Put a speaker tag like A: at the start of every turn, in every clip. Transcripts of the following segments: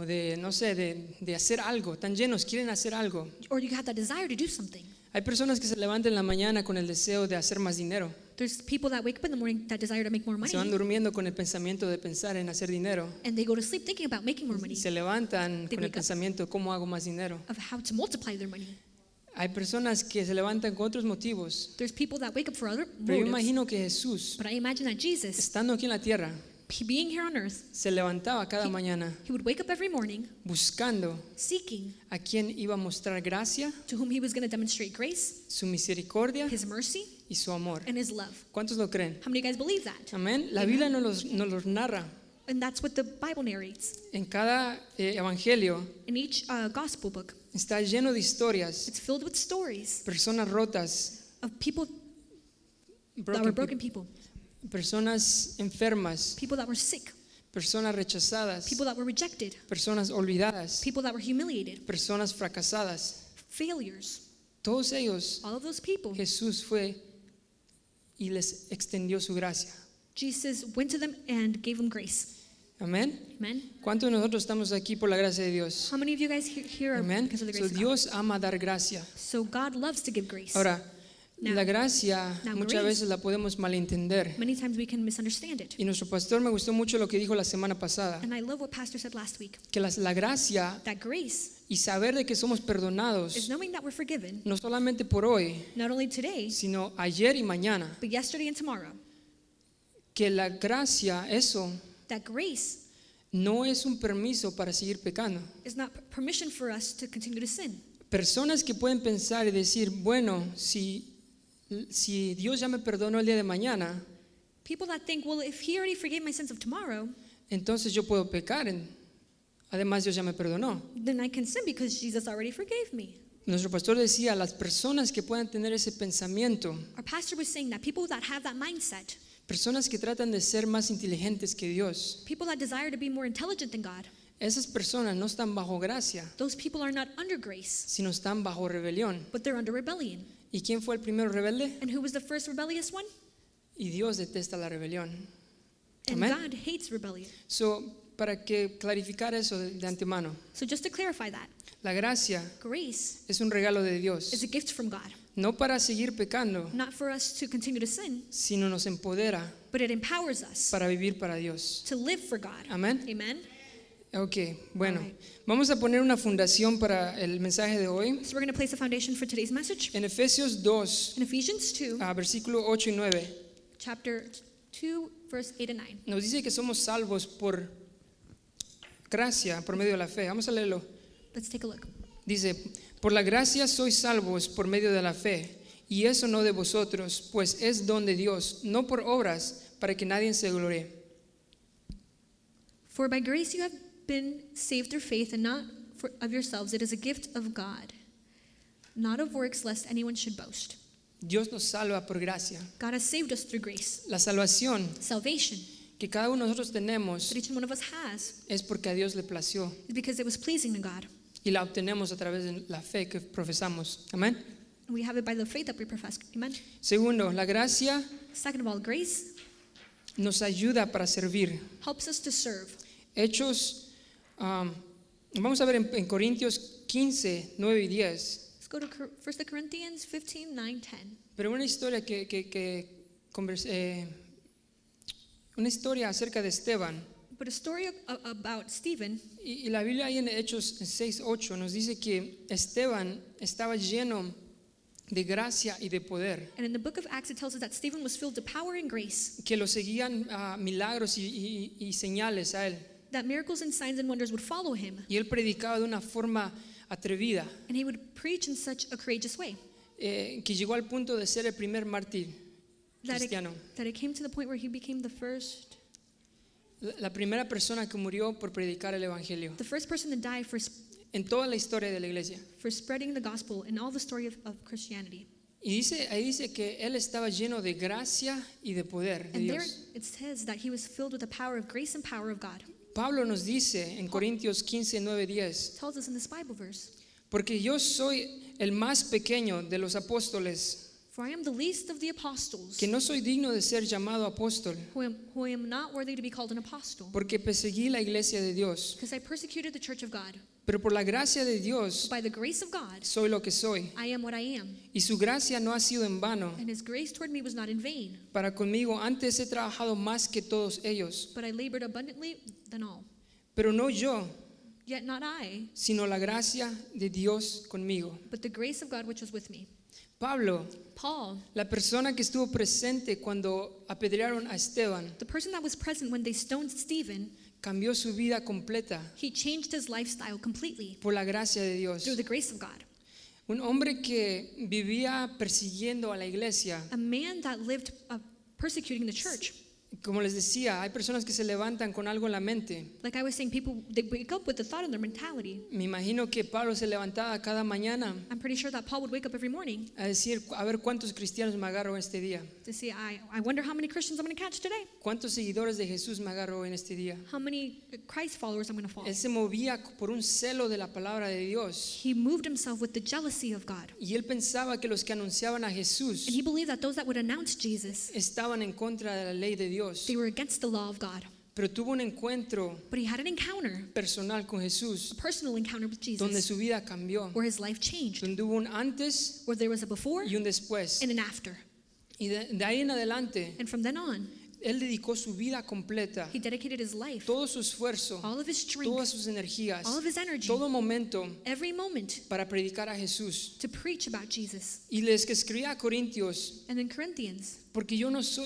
A: o de, no sé, de hacer algo, tan llenos, quieren hacer algo.
B: or you have that desire to do something.
A: Hay personas que se levantan en la mañana con el deseo de hacer más dinero.
B: There's people that wake up in the morning that desire to make more
A: Se van
B: money,
A: durmiendo con el pensamiento de pensar en hacer dinero.
B: and they go to sleep thinking about making more money,
A: Se levantan
B: They
A: con el
B: wake up.
A: pensamiento, ¿cómo hago más dinero?
B: of how to multiply their money.
A: Hay personas que se levantan con otros motivos.
B: There's people that wake up for other
A: Pero yo
B: motives.
A: imagino que Jesús,
B: But I imagine that Jesus,
A: estando aquí en la tierra,
B: being here on earth,
A: se levantaba cada mañana
B: he would wake up every morning
A: buscando
B: seeking
A: a quien iba a mostrar gracia,
B: to whom he was going to demonstrate grace,
A: su misericordia
B: his mercy,
A: y su amor.
B: and his love.
A: ¿Cuántos lo creen?
B: How many of you guys believe that?
A: Amén. La Biblia nos los narra
B: And that's what the Bible narrates.
A: en cada evangelio.
B: In each gospel book,
A: Está lleno de historias,
B: it's filled with stories
A: personas rotas,
B: of people that
A: broken
B: were broken
A: people,
B: people,
A: personas enfermas,
B: people that were sick,
A: personas rechazadas,
B: people that were rejected,
A: personas olvidadas,
B: people that were humiliated,
A: personas fracasadas.
B: failures.
A: Todos ellos,
B: All of those people,
A: Jesús fue y les extendió su gracia.
B: Jesus went to them and gave them grace.
A: Amén.
B: Amen.
A: ¿Cuántos de nosotros estamos aquí por la gracia de Dios?
B: How many of you guys here are
A: Amén.
B: because of the
A: So,
B: grace of God?
A: Dios ama dar gracia.
B: So God loves to give grace.
A: Ahora,
B: Now-
A: la gracia
B: now
A: muchas
B: grace-
A: veces la podemos malentender.
B: Many times we can misunderstand it.
A: Y nuestro pastor me gustó mucho lo que dijo la semana pasada,
B: And I love what Pastor said last week.
A: que la gracia
B: That grace
A: y saber de que somos
B: is
A: perdonados,
B: knowing that we're forgiven,
A: no solamente por hoy,
B: not only today,
A: sino ayer y mañana.
B: but yesterday and tomorrow.
A: Que la gracia, eso,
B: That grace
A: no es un permiso para seguir pecando.
B: is not permission for us to continue to sin.
A: Personas que pueden pensar y decir, bueno, si Dios ya me perdonó el día de mañana,
B: People that think, well, if he already forgave my sins of tomorrow,
A: entonces yo puedo pecar. Además, Dios ya me perdonó.
B: then I can sin because Jesus already forgave me.
A: Nuestro pastor decía, las personas que puedan tener ese pensamiento,
B: Our pastor was saying that people that have that mindset,
A: personas que tratan de ser más inteligentes que Dios,
B: people that desire to be more intelligent than God,
A: esas personas no están bajo gracia,
B: those people are not under grace,
A: sino están bajo rebelión.
B: but they're under rebellion.
A: ¿Y quién fue el primero rebelde?
B: And who was the first rebellious one?
A: Y Dios detesta la rebelión.
B: And
A: Amén.
B: God hates rebellion.
A: So, para que clarificar eso de antemano,
B: So just to clarify that,
A: la gracia
B: grace
A: es un regalo de
B: is
A: Dios,
B: a gift from God,
A: no para seguir pecando,
B: not for us to continue to sin,
A: sino nos empodera
B: but it empowers us
A: para vivir para Dios.
B: to live for God.
A: Amén.
B: Amen.
A: Ok, bueno,
B: Alright.
A: vamos a poner una fundación para el mensaje de hoy.
B: So we're going to place a foundation for today's message.
A: En Efesios 2,
B: In Ephesians 2,
A: versículo 8 y 9,
B: chapter 2, verse 8 and 9.
A: nos dice que somos salvos por gracia, por medio de la fe. Vamos a leerlo.
B: Let's take a look.
A: Dice, por la gracia sois salvos por medio de la fe, y eso no de vosotros, pues es don de Dios, no por obras, para que nadie se gloríe.
B: For by grace you have been saved through faith, and not of yourselves. It is a gift of God, not of works, lest anyone should boast.
A: Dios nos salva por gracia.
B: God has saved us through grace.
A: La salvación
B: Salvation
A: que cada uno de nosotros tenemos
B: that each one of us has
A: es porque a Dios le plació
B: is because it was pleasing to God.
A: y la obtenemos a través de la fe que profesamos. Amén.
B: And we have it by the faith that we profess. Amen.
A: Segundo, la gracia
B: Second of all, grace
A: nos ayuda para servir.
B: helps us to serve.
A: Hechos, vamos a ver en Corintios 15, 9 y 10.
B: Let's go to 1 Corinthians 15, 9, 10.
A: Pero una historia una historia acerca de Esteban.
B: But a story about Stephen,
A: Y la Biblia ahí en Hechos 6, 8 nos dice que Esteban estaba lleno de gracia y de poder,
B: and in the book of Acts it tells us that Stephen was filled with power and grace,
A: que lo seguían milagros y señales a él.
B: that miracles and signs and wonders would follow him,
A: Y él predicaba de una forma atrevida,
B: and he would preach in such a courageous way
A: que llegó al punto de ser el primer mártir
B: that
A: cristiano.
B: it came to the point where he became the first
A: La primera persona que murió por predicar el evangelio
B: person to die
A: en toda la historia de la iglesia.
B: for spreading the gospel in all the story of Christianity.
A: Y ahí dice que él estaba lleno de gracia y de poder de
B: And there
A: Dios.
B: it says that he was filled with the power of grace and power of God.
A: Pablo nos dice en Corintios 15, 9, 10,
B: It tells us in this Bible verse,
A: porque yo soy el más pequeño de los apóstoles,
B: For I am the least of the apostles,
A: que no soy digno de ser llamado apóstol,
B: who am not worthy to be called an apostle,
A: porque perseguí la iglesia de Dios.
B: because I persecuted the church of God.
A: Pero por la gracia de Dios
B: By the grace of God,
A: soy lo que soy.
B: I am what I am,
A: Y su gracia no ha sido en vano.
B: and his grace toward me was not in vain,
A: Para conmigo antes he trabajado más que todos ellos.
B: but I labored abundantly than all.
A: Pero no yo,
B: Yet not I,
A: sino la gracia de Dios conmigo.
B: but the grace of God which was with me.
A: Pablo,
B: Paul,
A: la persona que estuvo presente cuando apedrearon a Esteban,
B: the person that was present when they stoned Stephen,
A: cambió su vida completa
B: he changed his lifestyle completely
A: por la gracia de Dios.
B: through the grace of God.
A: Un hombre que vivía persiguiendo a la iglesia.
B: A man that lived persecuting the church.
A: Como les decía, hay personas que se levantan con algo en la mente.
B: Like I was saying, people, they wake up with the thought in their mentality.
A: Me imagino que Pablo se levantaba cada mañana
B: I'm pretty sure that Paul would wake up every morning
A: a decir, a ver cuántos cristianos me agarro este día.
B: to say, I wonder how many Christians I'm going to catch today.
A: ¿Cuántos seguidores de Jesús me agarro en este día?
B: How many Christ followers I'm going to follow.
A: Él se movía por un celo de la palabra de Dios.
B: He moved himself with the jealousy of God.
A: Y él pensaba que los que anunciaban a Jesús
B: And he believed that those that would announce Jesus,
A: estaban en contra de la ley de Dios.
B: they were against the law of God.
A: Pero tuvo un encuentro
B: But he had an encounter,
A: personal con Jesús,
B: a personal encounter with
A: donde
B: Jesus,
A: su vida cambió,
B: where his life changed,
A: donde hubo un antes
B: where there was a before
A: y un después.
B: and an after.
A: Y de ahí en adelante,
B: And from then on,
A: él dedicó su vida completa,
B: he dedicated his life,
A: todo su esfuerzo,
B: all of his
A: todas
B: strength,
A: sus energías,
B: all of his energy,
A: todo momento
B: every moment
A: para predicar a Jesús.
B: to preach about Jesus.
A: Y les que escribía a Corintios,
B: And in Corinthians,
A: porque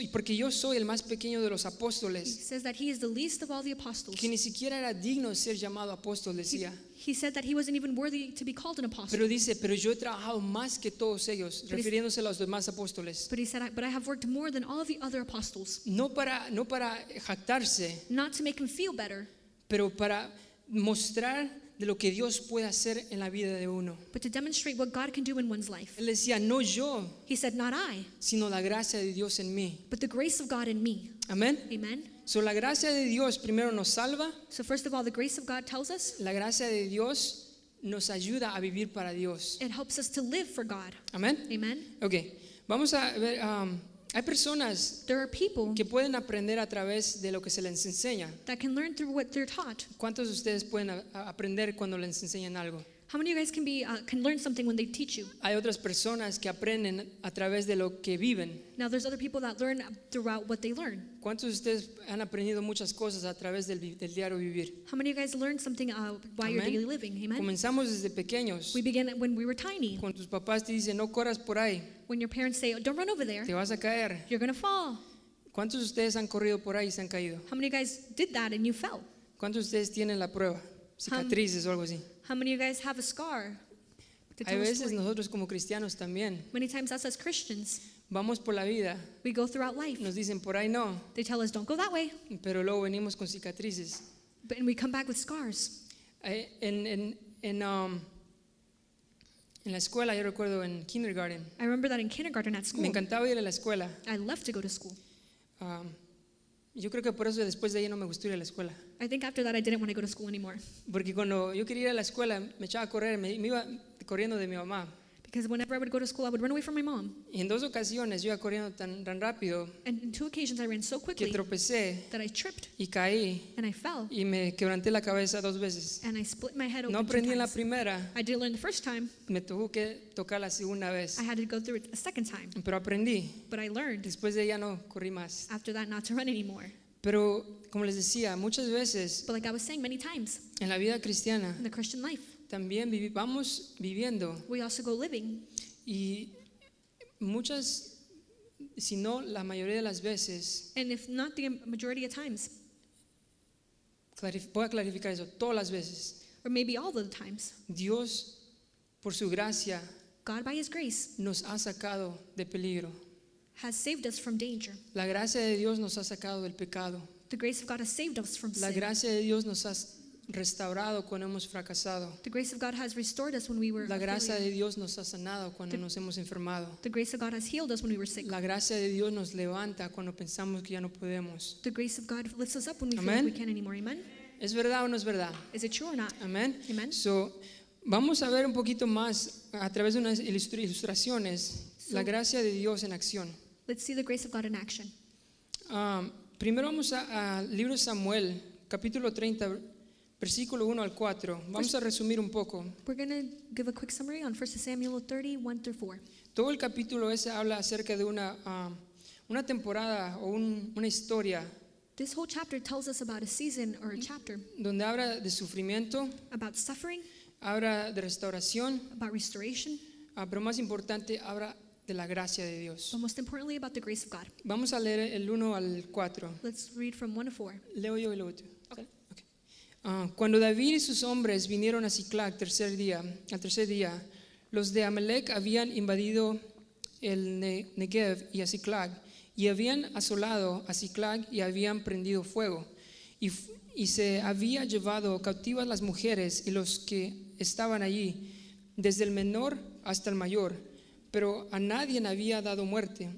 A: yo soy el más pequeño de los
B: he
A: apóstoles,
B: says that he is the least of all the apostles.
A: que ni siquiera era digno de ser llamado apóstol, decía.
B: He said that he wasn't even worthy to be called an apostle.
A: Pero dice, pero yo he trabajado más que todos ellos, refiriéndose a los demás apóstoles.
B: But he said, but I have worked more than all of the other apostles,
A: No para jactarse,
B: not to make him feel better,
A: pero para mostrar de lo que Dios puede hacer en la vida de uno.
B: but to demonstrate what God can do in one's life.
A: Él decía, no yo,
B: He said, not I,
A: sino la gracia de Dios en mí.
B: but the grace of God in me.
A: Amén.
B: Amen.
A: So, la gracia de Dios primero nos salva,
B: So first of all, the grace of God tells us
A: la gracia de Dios nos ayuda a vivir para Dios.
B: it helps us to live for God.
A: Amén.
B: Amen.
A: Ok, vamos a ver, hay personas
B: There are people
A: que pueden aprender a través de lo que se les enseña.
B: that can learn through what they're taught.
A: ¿Cuántos de ustedes pueden aprender cuando les enseñan algo?
B: How many of you guys can learn something when they teach you?
A: Hay otras personas que aprenden a través de lo que viven.
B: Now there's other people that learn throughout what they learn.
A: ¿Cuántos de ustedes han aprendido muchas cosas a través del diario vivir?
B: How many of you guys learn something while you're
A: Amén.
B: daily living? Amen.
A: Comenzamos desde pequeños.
B: We began when we were tiny.
A: Cuando tus papás te dicen, no corras por ahí,
B: When your parents say, oh, don't run over there,
A: te vas a caer.
B: you're going to fall.
A: ¿Cuántos de ustedes han corrido por ahí y se han caído?
B: How many of you guys did that and you fell?
A: ¿Cuántos de ustedes tienen la prueba? Cicatrices o algo así.
B: How many of you guys have a scar? To
A: Hay
B: tell a
A: veces
B: story?
A: nosotros como cristianos también
B: Many times us as Christians,
A: vamos por la vida,
B: we go throughout life.
A: nos dicen por ahí no,
B: They tell us, don't go that way.
A: pero luego venimos con cicatrices.
B: And we come back with scars.
A: En la escuela, yo recuerdo en kindergarten,
B: I remember that in kindergarten at
A: me
B: school,
A: encantaba ir a la escuela.
B: I loved to go to school.
A: Yo creo que por eso después de ahí no me gustó ir a la escuela.
B: I think after that I didn't want to go to school anymore.
A: Porque cuando yo quería ir a la escuela, me echaba a correr, me iba corriendo de mi mamá.
B: Because whenever I would go to school, I would run away from my mom.
A: Y en 2 ocasiones yo iba corriendo tan rápido
B: And in 2 occasions I ran so
A: que
B: quickly
A: tropecé
B: that I tripped
A: y caí
B: and I fell
A: y me quebranté la cabeza 2 veces.
B: and I split my head
A: No
B: open 2
A: aprendí en la
B: times.
A: primera,
B: I didn't learn the first time.
A: me tuvo que tocar la segunda vez.
B: I had to go through it a second time.
A: Pero aprendí.
B: But I learned
A: Después de ella no corrí más.
B: after that not to run anymore.
A: Pero como les decía, muchas veces
B: But like I was saying many times,
A: en la vida cristiana
B: in the Christian life,
A: también vamos viviendo
B: we also go living.
A: y muchas, si no la mayoría de las veces,
B: And if not the majority of times,
A: voy a clarificar eso, todas las veces,
B: or maybe all of the times,
A: Dios por su gracia
B: God by His grace
A: nos ha sacado de peligro.
B: has saved us from danger.
A: La gracia de Dios nos ha sacado del pecado.
B: The grace of God has saved us from
A: La
B: sin.
A: gracia de Dios nos ha restaurado cuando hemos fracasado.
B: The grace of God has restored us when we were
A: La gracia
B: failure.
A: de Dios nos ha sanado cuando nos hemos enfermado.
B: The grace of God has healed us when we were sick.
A: La gracia de Dios nos levanta cuando pensamos que ya no podemos.
B: The grace of God lifts us up when we feel
A: Amen.
B: like we can't anymore. Amen?
A: ¿Es verdad o no es verdad?
B: Is it true or not?
A: Amén.
B: Amen.
A: So, vamos a ver un poquito más a través de unas ilustraciones la gracia de Dios en acción.
B: let's see the grace of God in action.
A: Primero vamos al libro de Samuel, capítulo 30, versículo 1 al 4. Vamos a resumir un poco.
B: We're going to give a quick summary on 1 Samuel 30, 1 through 4.
A: Todo el capítulo ese habla acerca de una temporada o una historia
B: This whole chapter tells us about a season or a chapter
A: donde habla de sufrimiento,
B: about suffering,
A: habla de restauración,
B: about restoration,
A: pero más importante, habla de la gracia de Dios.
B: but most importantly about the grace of God.
A: Vamos a leer el 1 al 4.
B: Let's read from 1 to 4.
A: Leo yo y luego tú. Okay. Cuando David y sus hombres vinieron a Siclag al tercer día, los de Amalec habían invadido el Negev y a Siclag, y habían asolado a Siclag y habían prendido fuego, y se había llevado cautivas las mujeres y los que estaban allí, desde el menor hasta el mayor, pero a nadie había dado muerte,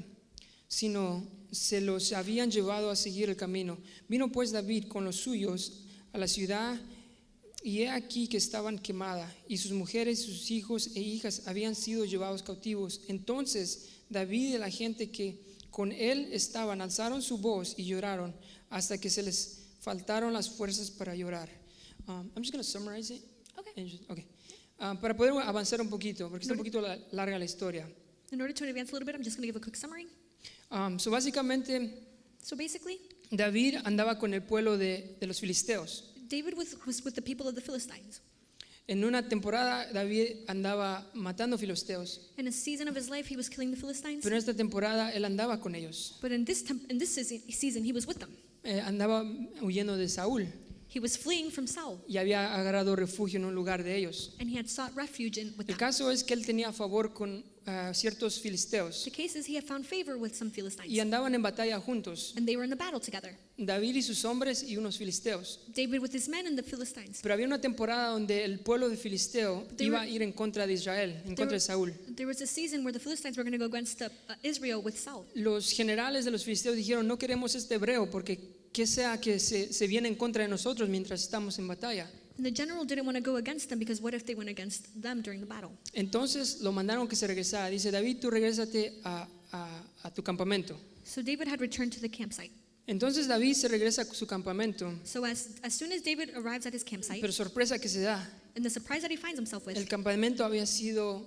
A: sino se los habían llevado a seguir el camino. Vino pues David con los suyos a la ciudad, y he aquí que estaban quemadas, y sus mujeres, sus hijos e hijas habían sido llevados cautivos. Entonces David y la gente que con él estaban alzaron su voz y lloraron hasta que se les faltaron las fuerzas para llorar. I'm just going to summarize it. Okay. Para poder avanzar un poquito, porque está un poquito larga la historia.
B: In order to advance a little bit, I'm just going to give a quick summary.
A: Básicamente,
B: So basically,
A: David andaba con el pueblo de los filisteos.
B: David was with the people of the Philistines.
A: En una temporada David andaba matando filisteos,
B: In a season of his life, he was killing the Philistines.
A: pero en esta temporada él andaba con ellos.
B: But in this season, he was with them.
A: Andaba huyendo de Saúl
B: He was fleeing from Saul,
A: y había agarrado refugio en un lugar de ellos.
B: and he had sought refuge with
A: El
B: them.
A: caso es que él tenía favor con ciertos filisteos
B: The case is he had found favor with some Philistines,
A: y andaban en batalla juntos,
B: and they were in the battle together.
A: David y sus hombres y unos filisteos.
B: David with his men and the Philistines.
A: Pero había una temporada donde el pueblo de filisteo iba a ir en contra de Israel, en contra de Saúl.
B: There was a season where the Philistines were going to go against Israel with Saul.
A: Los generales de los filisteos dijeron: no queremos este hebreo porque que sea que se viene en contra de nosotros mientras estamos en batalla.
B: And the general didn't want to go against them because what if they went against them during the battle?
A: Entonces lo mandaron que se regresara. Dice: David, tú regrésate a tu campamento.
B: So David had returned to the campsite.
A: Entonces David se regresa a su campamento,
B: So as soon as David arrives at his campsite,
A: pero sorpresa que se da,
B: and the surprise that he finds himself with,
A: el campamento había sido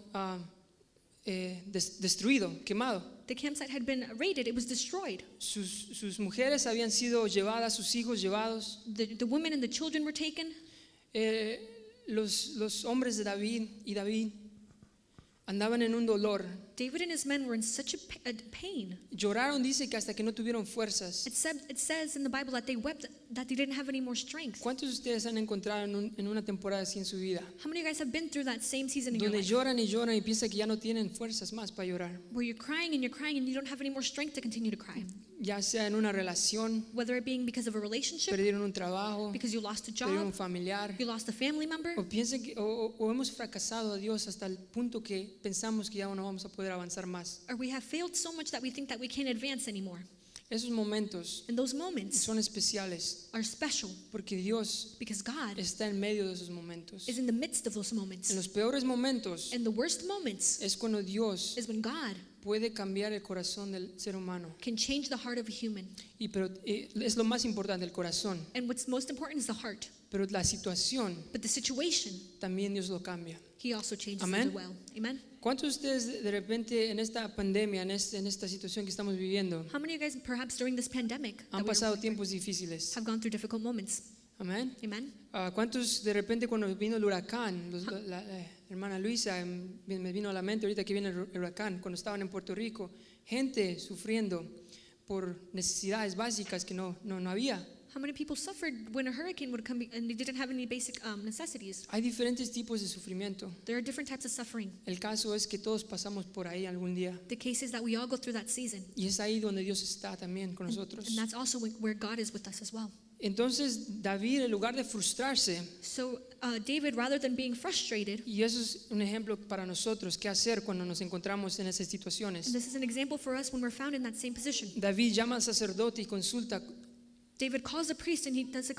A: destruido, quemado.
B: the campsite had been raided, it was destroyed.
A: Sus mujeres habían sido llevadas, sus hijos llevados.
B: The women and the children were taken.
A: Los hombres de David y David andaban en un dolor.
B: David and his men were in such a pain.
A: Lloraron, dice que hasta que no tuvieron fuerzas.
B: It says in the Bible that they wept, that they didn't have any more strength.
A: ¿Cuántos de ustedes han encontrado en una temporada así en su vida?
B: How many of you guys have been through that same season in your
A: Donde
B: life?
A: lloran y lloran y piensan que ya no tienen fuerzas más para llorar.
B: Where you're crying and you don't have any more strength to continue to cry.
A: Ya sea en una relación,
B: Whether it being because of a relationship,
A: perdieron un trabajo,
B: because you lost a
A: perdieron un
B: job,
A: familiar,
B: you lost a family member,
A: o piensen que o hemos fracasado a Dios hasta el punto que pensamos que ya no vamos a poder avanzar más.
B: or we have failed so much that we think that we can't advance anymore.
A: Esos momentos
B: And those moments
A: son especiales
B: are special
A: porque Dios
B: because God
A: está en medio de esos momentos.
B: is in the midst of those moments.
A: En los peores momentos
B: And the worst moments
A: es cuando Dios
B: is when God
A: puede cambiar el corazón del ser humano.
B: can change the heart of a human.
A: Pero es lo más importante, el corazón.
B: And what's most important is the heart.
A: Pero la situación
B: But the situation,
A: también Dios lo cambia.
B: He also changes
A: Amen.
B: it well. Amen.
A: ¿Cuántos de ustedes de repente en esta pandemia, en esta situación que estamos viviendo,
B: How many of you guys perhaps during this pandemic
A: han pasado tiempos difíciles?
B: have gone through difficult moments?
A: Amén.
B: Amen.
A: ¿Cuántos de repente cuando vino el huracán, la hermana Luisa me vino a la mente ahorita que viene el huracán, cuando estaban en Puerto Rico, gente sufriendo por necesidades básicas que no había?
B: How many people suffered when a hurricane would come and they didn't have any basic necessities?
A: Hay diferentes tipos de sufrimiento.
B: There are different types of suffering.
A: El caso es que todos pasamos por ahí algún día.
B: The case is that we all go through that season.
A: Y es ahí donde Dios está también con nosotros.
B: And that's also where God is with us as well.
A: Entonces David, en lugar de frustrarse,
B: So David, rather than being frustrated,
A: y eso es un ejemplo para nosotros, qué hacer cuando nos encontramos en esas
B: and
A: situaciones.
B: this is an example for us when we're found in that same position.
A: David llama al sacerdote y consulta.
B: David calls a priest and he does a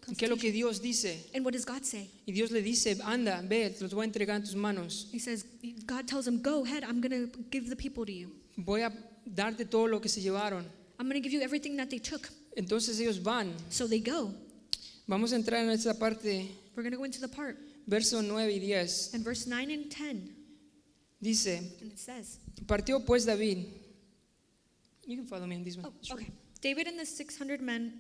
A: ¿Qué es lo que Dios dice?
B: And what does God say?
A: Y Dios le dice, anda, ve, los voy a entregar en tus manos.
B: He says, God tells him, go ahead, I'm going to give the people to you.
A: Voy a darte todo lo que se llevaron.
B: I'm going to give you everything that they took.
A: Entonces ellos van.
B: So they go.
A: Vamos a entrar en esta parte,
B: We're going to go into the part.
A: verso 9 y 10.
B: And verse 9 and 10,
A: Dice,
B: and it says,
A: partió pues David. You can follow me in this one.
B: oh, okay. David and the 600 men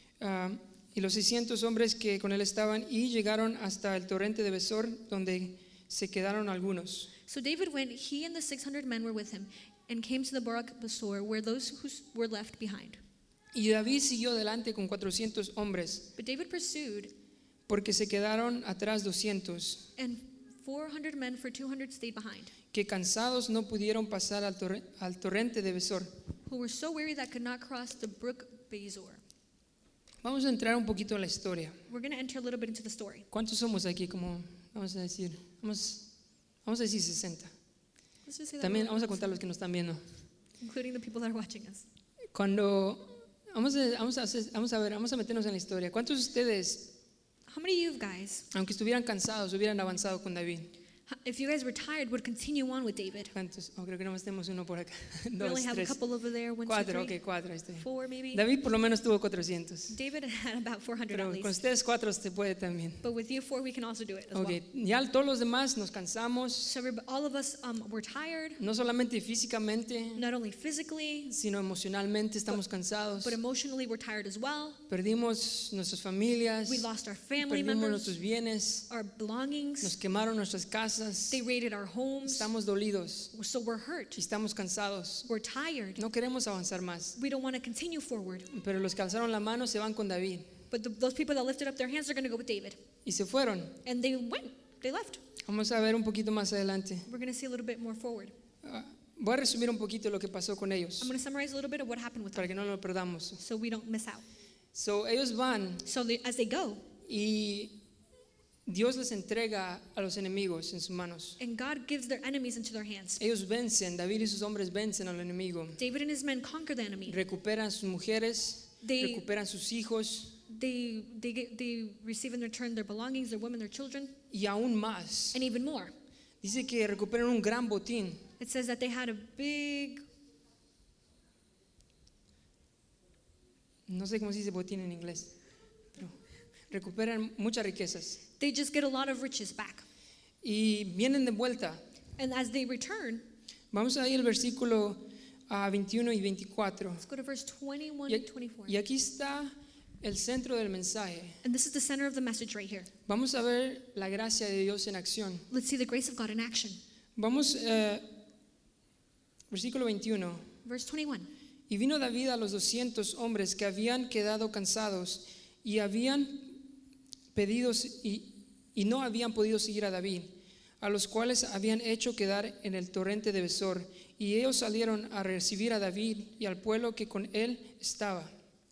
A: Y los 600 hombres que con él estaban y llegaron hasta el torrente de Besor, donde se quedaron algunos.
B: So David went, he and the 600 men were with him, and came to the Barak Besor, where those who were left behind.
A: Y David siguió delante con 400 hombres,
B: But David pursued,
A: porque se quedaron atrás 200,
B: and 400 men for 200 stayed behind,
A: que cansados no pudieron pasar al torrente de Besor.
B: who were so weary that could not cross the brook Bezor.
A: Vamos a entrar un poquito en la historia.
B: We're going to enter a little bit into the story.
A: ¿Cuántos somos aquí? Como vamos a decir, vamos a decir 60.
B: Let's just say that
A: También
B: we're-
A: vamos a contar los que nos están viendo.
B: including the people that are watching us.
A: Cuando vamos a meternos en la historia. ¿Cuántos de ustedes,
B: How many of you guys,
A: aunque estuvieran cansados, hubieran avanzado con David?
B: if you guys were tired, would continue on with David?
A: ¿Cuántos? Oh, creo que nomás tenemos uno por acá.
B: We
A: Dos,
B: only have a
A: tres,
B: couple over there, 1, 2,
A: cuatro.
B: 3,
A: Ok, cuatro. Ahí estoy.
B: 4 maybe.
A: David por lo menos tuvo 400.
B: David had about 400
A: Pero
B: at
A: con
B: least.
A: ustedes cuatro se puede también.
B: But with you 4, we can also do it as
A: Ok,
B: well.
A: ya todos los demás nos cansamos,
B: So all of us were tired,
A: no solamente físicamente,
B: not only physically,
A: sino emocionalmente estamos cansados.
B: but emotionally we're tired as well.
A: Perdimos nuestras familias,
B: We lost our family
A: perdimos
B: members,
A: nuestros bienes,
B: our
A: nos
B: belongings.
A: quemaron nuestras casas,
B: They raided our homes.
A: estamos dolidos
B: So we're hurt.
A: y estamos cansados.
B: We're tired.
A: No queremos avanzar más,
B: We don't want to continue forward.
A: pero los que alzaron la mano se van con David
B: But those people that lifted up their hands are going to go with David.
A: y se fueron.
B: And they went. They left.
A: Vamos a ver un poquito más adelante.
B: We're going to see a little bit more forward.
A: Voy a resumir un poquito lo que pasó con ellos
B: I'm going to summarize a little bit of what happened with them
A: para que no lo perdamos.
B: so we don't miss out.
A: So, ellos van
B: So as they go,
A: y Dios les entrega a los enemigos en sus manos.
B: and God gives their enemies into their hands.
A: Ellos vencen, David y sus hombres vencen al enemigo.
B: David and his men conquer the enemy.
A: Recuperan sus mujeres,
B: They-
A: recuperan sus hijos
B: They receive in return their belongings, their women, their children,
A: y aún más.
B: and even more.
A: Dice que recuperan un gran botín.
B: It says that they had a big,
A: No sé cómo se dice botín en inglés, pero recuperan muchas riquezas.
B: they just get a lot of riches back.
A: Y vienen de vuelta.
B: And as they return,
A: Vamos a ir al versículo 21 y 24.
B: let's go to verse 21
A: Y,
B: and 24.
A: y aquí está el centro del mensaje.
B: And this is the center of the message right here.
A: Vamos a ver la gracia de Dios en acción.
B: Let's see the grace of God in action.
A: Vamos, versículo 21.
B: Verse 21.
A: Y vino David a los 200 hombres que habían quedado cansados y habían pedido y no habían podido seguir a David, a los cuales habían hecho quedar en el torrente de Besor. Y ellos salieron a recibir a David y al pueblo que con él estaba.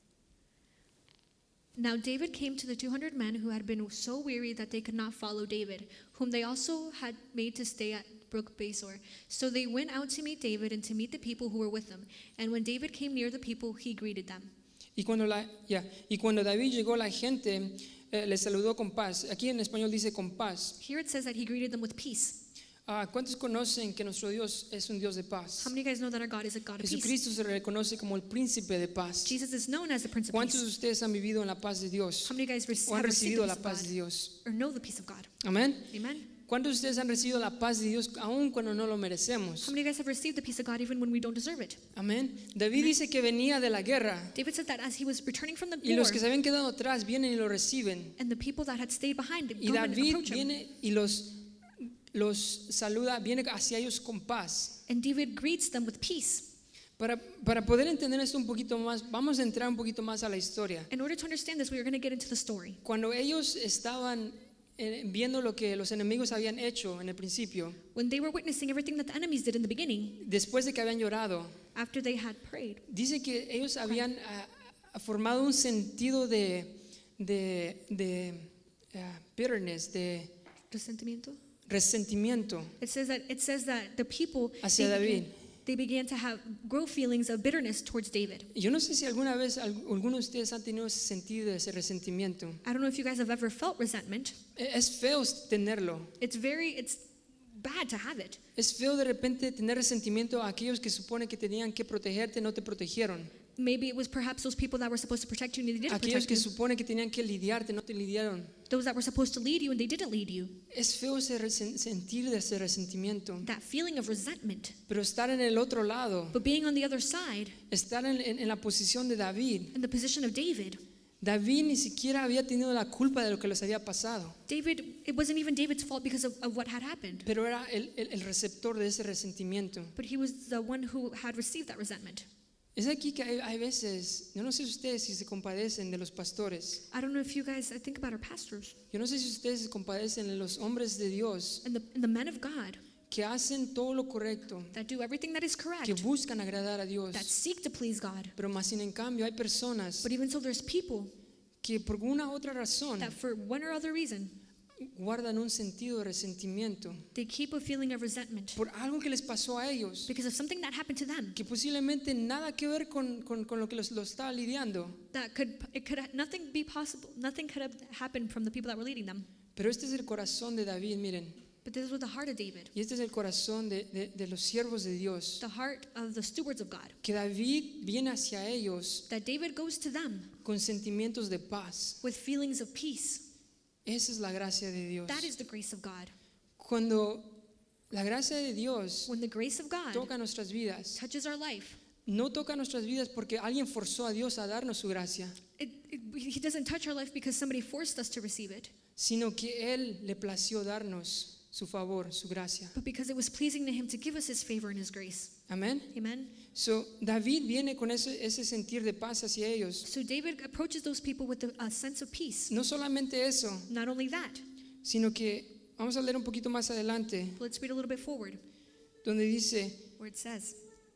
B: Now David came to the 200 men who had been so weary that they could not follow David, whom they also had made to stay at Brook Besor. So they went out to meet David and to meet the people who were with them. And when David came near the people, he greeted them.
A: Y cuando David llegó, la gente le saludó con paz. Aquí en español dice con paz.
B: Here it says that he greeted them with peace.
A: ¿Cuántos conocen que nuestro Dios es un Dios de paz?
B: How many of you guys know that our God is a God of peace?
A: Jesucristo se reconoce como el príncipe de paz.
B: Jesus is known as the Prince of
A: ¿Cuántos de
B: Peace.
A: ustedes han vivido en la paz de Dios?
B: How many of you guys
A: ¿O han
B: have received
A: recibido
B: the
A: la
B: peace of
A: paz de
B: God
A: Dios?
B: or know the peace of God?
A: Amén.
B: Amen.
A: ¿Cuántos de ustedes han recibido la paz de Dios aun cuando no lo merecemos?
B: How many of you guys have received the peace of God even when we don't deserve it?
A: Amén. David dice que venía de la guerra
B: David said that as he was returning from the
A: y
B: war,
A: los que se habían quedado atrás vienen y lo reciben.
B: and the people that had stayed behind
A: Y
B: come and
A: David
B: approach him.
A: viene y los saluda, viene hacia ellos con paz.
B: And David greets them with peace.
A: Para poder entender esto un poquito más, vamos a entrar un poquito más a la historia.
B: In order to understand this, we are going to get into the story.
A: Cuando ellos estaban viendo lo que los enemigos habían hecho en el principio,
B: When they were witnessing everything that the enemies did in the beginning,
A: después de que habían llorado,
B: after they had prayed,
A: dice que ellos habían formado un sentido de bitterness, de
B: resentimiento.
A: resentimiento
B: It says that the people
A: hacia David.
B: they began to grow feelings of bitterness towards David.
A: Yo no sé si alguna vez alguno de ustedes han tenido ese sentido, ese resentimiento.
B: I don't know if you guys have ever felt resentment.
A: Es feo tenerlo.
B: It's bad to have it.
A: Es feo de repente tener resentimiento a aquellos que supone que tenían que protegerte, no te protegieron.
B: Maybe it was perhaps those people that were supposed to protect you and they didn't
A: Aquellos
B: protect
A: que
B: you.
A: supone que tenían que lidiarte, no te lidiaron.
B: Those that were supposed to lead you and they didn't lead you.
A: Es feo sentir de ese resentimiento.
B: That feeling of resentment.
A: Pero estar en el otro lado,
B: But being on the other side,
A: estar en la posición de David.
B: in the position of David,
A: David ni siquiera había tenido la culpa de lo que les había pasado,
B: it wasn't even David's fault because of what had happened.
A: pero era el receptor de ese resentimiento.
B: But he was the one who had received that resentment.
A: Es aquí que hay veces, yo no sé si ustedes si se compadecen de los pastores,
B: I don't know if you guys, I think about our pastors
A: yo no sé si ustedes se compadecen de los hombres de Dios
B: and the men of God
A: que hacen todo lo correcto,
B: that do everything that is correct,
A: que buscan agradar a Dios,
B: that seek to please God.
A: pero más sin en cambio hay personas
B: But even so, there's people
A: que por una u otra razón
B: that for one or other reason,
A: guardan un sentido de resentimiento
B: they keep a feeling of resentment
A: por algo que les pasó a ellos,
B: because of something that happened to them
A: que posiblemente nada que ver con lo que los estaba lidiando.
B: that nothing be possible, nothing could have happened from the people that were leading them.
A: Pero este es el corazón de David, miren,
B: But this was the heart of David,
A: y este es el corazón de los siervos de Dios,
B: the heart of the stewards of God,
A: que David viene hacia ellos
B: that David goes to them
A: con sentimientos de paz.
B: with feelings of peace.
A: Esa es la gracia de Dios.
B: That is the grace of God.
A: Cuando la gracia de Dios
B: When the grace of God
A: toca nuestras vidas,
B: touches our life,
A: no toca nuestras vidas porque alguien forzó a Dios a darnos su gracia,
B: He doesn't touch our life because somebody forced us to receive it,
A: sino que Él le plació darnos su favor, su gracia.
B: but because it was pleasing to Him to give us His favor and His grace.
A: Amén.
B: Amen.
A: So, David viene con ese sentir de paz hacia ellos.
B: So David approaches those people with a sense of peace.
A: No solamente eso,
B: Not only that,
A: sino que vamos a leer un poquito más adelante,
B: but let's read a little bit forward
A: donde dice,
B: where it says,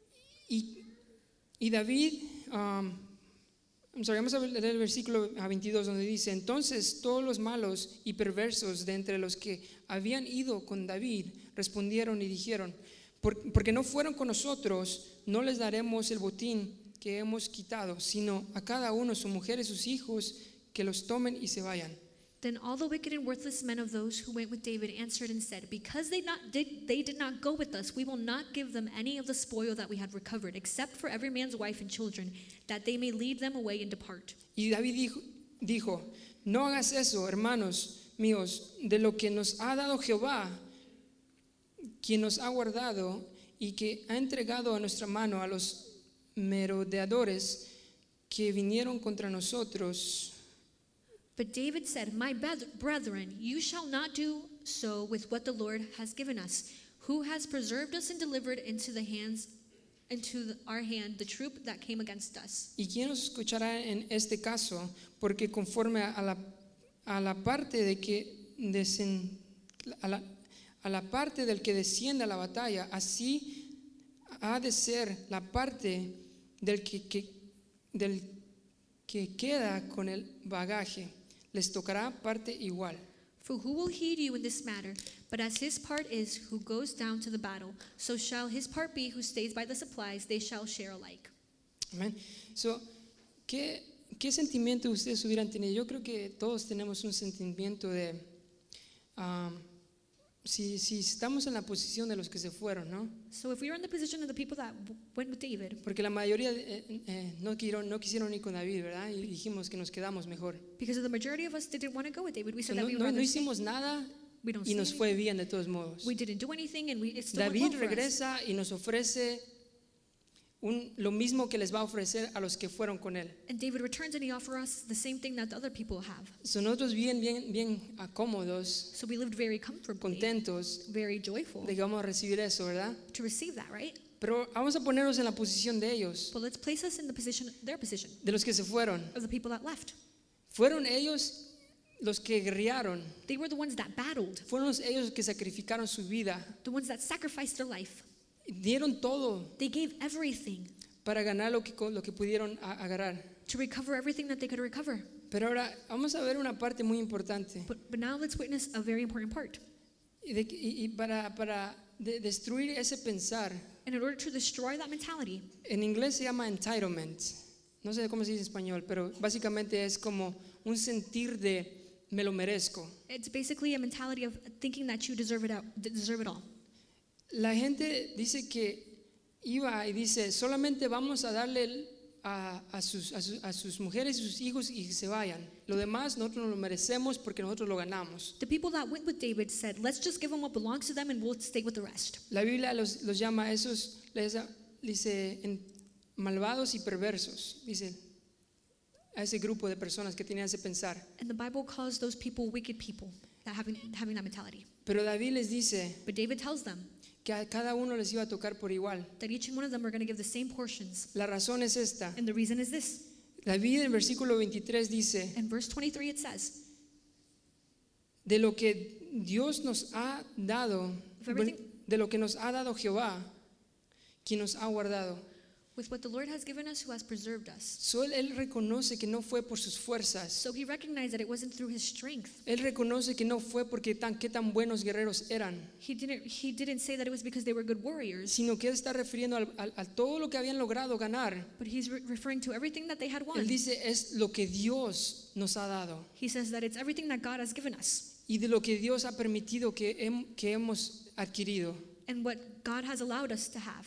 A: y David, vamos a leer el versículo 22 donde dice, entonces todos los malos y perversos de entre los que habían ido con David respondieron y dijeron, porque no fueron con nosotros, no les daremos el botín que hemos quitado, sino a cada uno su mujer y sus hijos que los tomen y se vayan.
B: Then all the wicked and worthless men of those who went with David answered and said, because they did not go with us, we will not give them any of the spoil that we had recovered, except for every man's wife and children, that they may lead them away and depart.
A: Y David dijo, no hagas eso, hermanos míos, de lo que nos ha dado Jehová, quien nos ha guardado y que ha entregado a nuestra mano a los merodeadores que vinieron contra nosotros.
B: But David said, my brethren, you shall not do so with what the Lord has given us, who has preserved us and delivered into our hand the troop that came against us.
A: ¿Y quién nos escuchará en este caso? Porque conforme a la parte de que a la parte del que desciende a la batalla, así ha de ser la parte del que queda con el bagaje. Les tocará parte igual.
B: For who will heed you in this matter? But as his part is who goes down to the battle, so shall his part be who stays by the supplies, they shall share alike.
A: Amén. So, ¿qué sentimiento ustedes hubieran tenido? Yo creo que todos tenemos un sentimiento de si estamos en la posición de los que se fueron, ¿no?
B: So if we were in the position of the people that went with David,
A: Porque la mayoría no quisieron ir con David, ¿verdad? Y dijimos que nos quedamos mejor.
B: because of the majority of us didn't want to go with David, we
A: So,
B: said that we would
A: no
B: rather stay.
A: hicimos nada
B: We don't
A: y
B: say
A: nos
B: anything.
A: fue bien de todos modos.
B: We didn't do anything, and it still went
A: David
B: well for us.
A: regresa y nos ofrece lo mismo que les va a ofrecer a los que fueron con él.
B: And David returns and he offers us the same thing that the other people have.
A: So, nosotros bien cómodos,
B: So we lived very comfortably,
A: contentos
B: very joyful
A: de que vamos a recibir eso, ¿verdad?
B: to receive that, right?
A: Pero vamos a ponernos en la posición de ellos,
B: But let's place us in the position, their position,
A: de los que se fueron.
B: of the people that left.
A: Fueron ellos los que guerrearon,
B: They were the ones that battled,
A: fueron ellos que sacrificaron su vida,
B: the ones that sacrificed their life.
A: dieron todo
B: They gave everything
A: para ganar lo que pudieron agarrar.
B: to recover everything that they could recover.
A: Pero ahora vamos a ver una parte muy importante.
B: But now let's witness a very important part.
A: Y para destruir ese pensar
B: And in order to destroy that mentality,
A: En inglés se llama entitlement. No sé cómo se dice en español, pero básicamente es como un sentir de me lo merezco.
B: it's basically a mentality of thinking that you deserve it all.
A: La gente dice que iba y dice, solamente vamos a darle a sus mujeres y sus hijos y que se vayan. Lo demás nosotros nos lo merecemos porque nosotros lo ganamos.
B: The people that went with David said, let's just give them what belongs to them and we'll stay with the rest.
A: La Biblia los llama a esos, dice, malvados y perversos, dice, a ese grupo de personas que tenían ese pensar.
B: And the Bible calls those people wicked people, that having that mentality.
A: Pero David les dice
B: But David tells them
A: que a cada uno les iba a tocar por igual.
B: that each one of them are going to give the same portions.
A: La razón es esta.
B: And the reason is this.
A: David en versículo 23 dice,
B: In verse 23 it says,
A: de lo que Dios nos ha dado, de lo que nos ha dado Jehová, quien nos ha guardado.
B: with what the Lord has given us, who has preserved us.
A: So él reconoce que no fue por sus fuerzas.
B: So he recognized that it wasn't through his strength.
A: Él reconoce que no fue porque qué tan buenos guerreros eran,
B: He didn't say that it was because they were good warriors,
A: sino que él está refiriendo a todo lo que habían logrado ganar.
B: but he's referring to everything that they had won.
A: Él dice es lo que Dios nos ha dado
B: He says that it's everything that God has given us
A: y de lo que Dios ha permitido que hemos adquirido.
B: and what God has allowed us to have.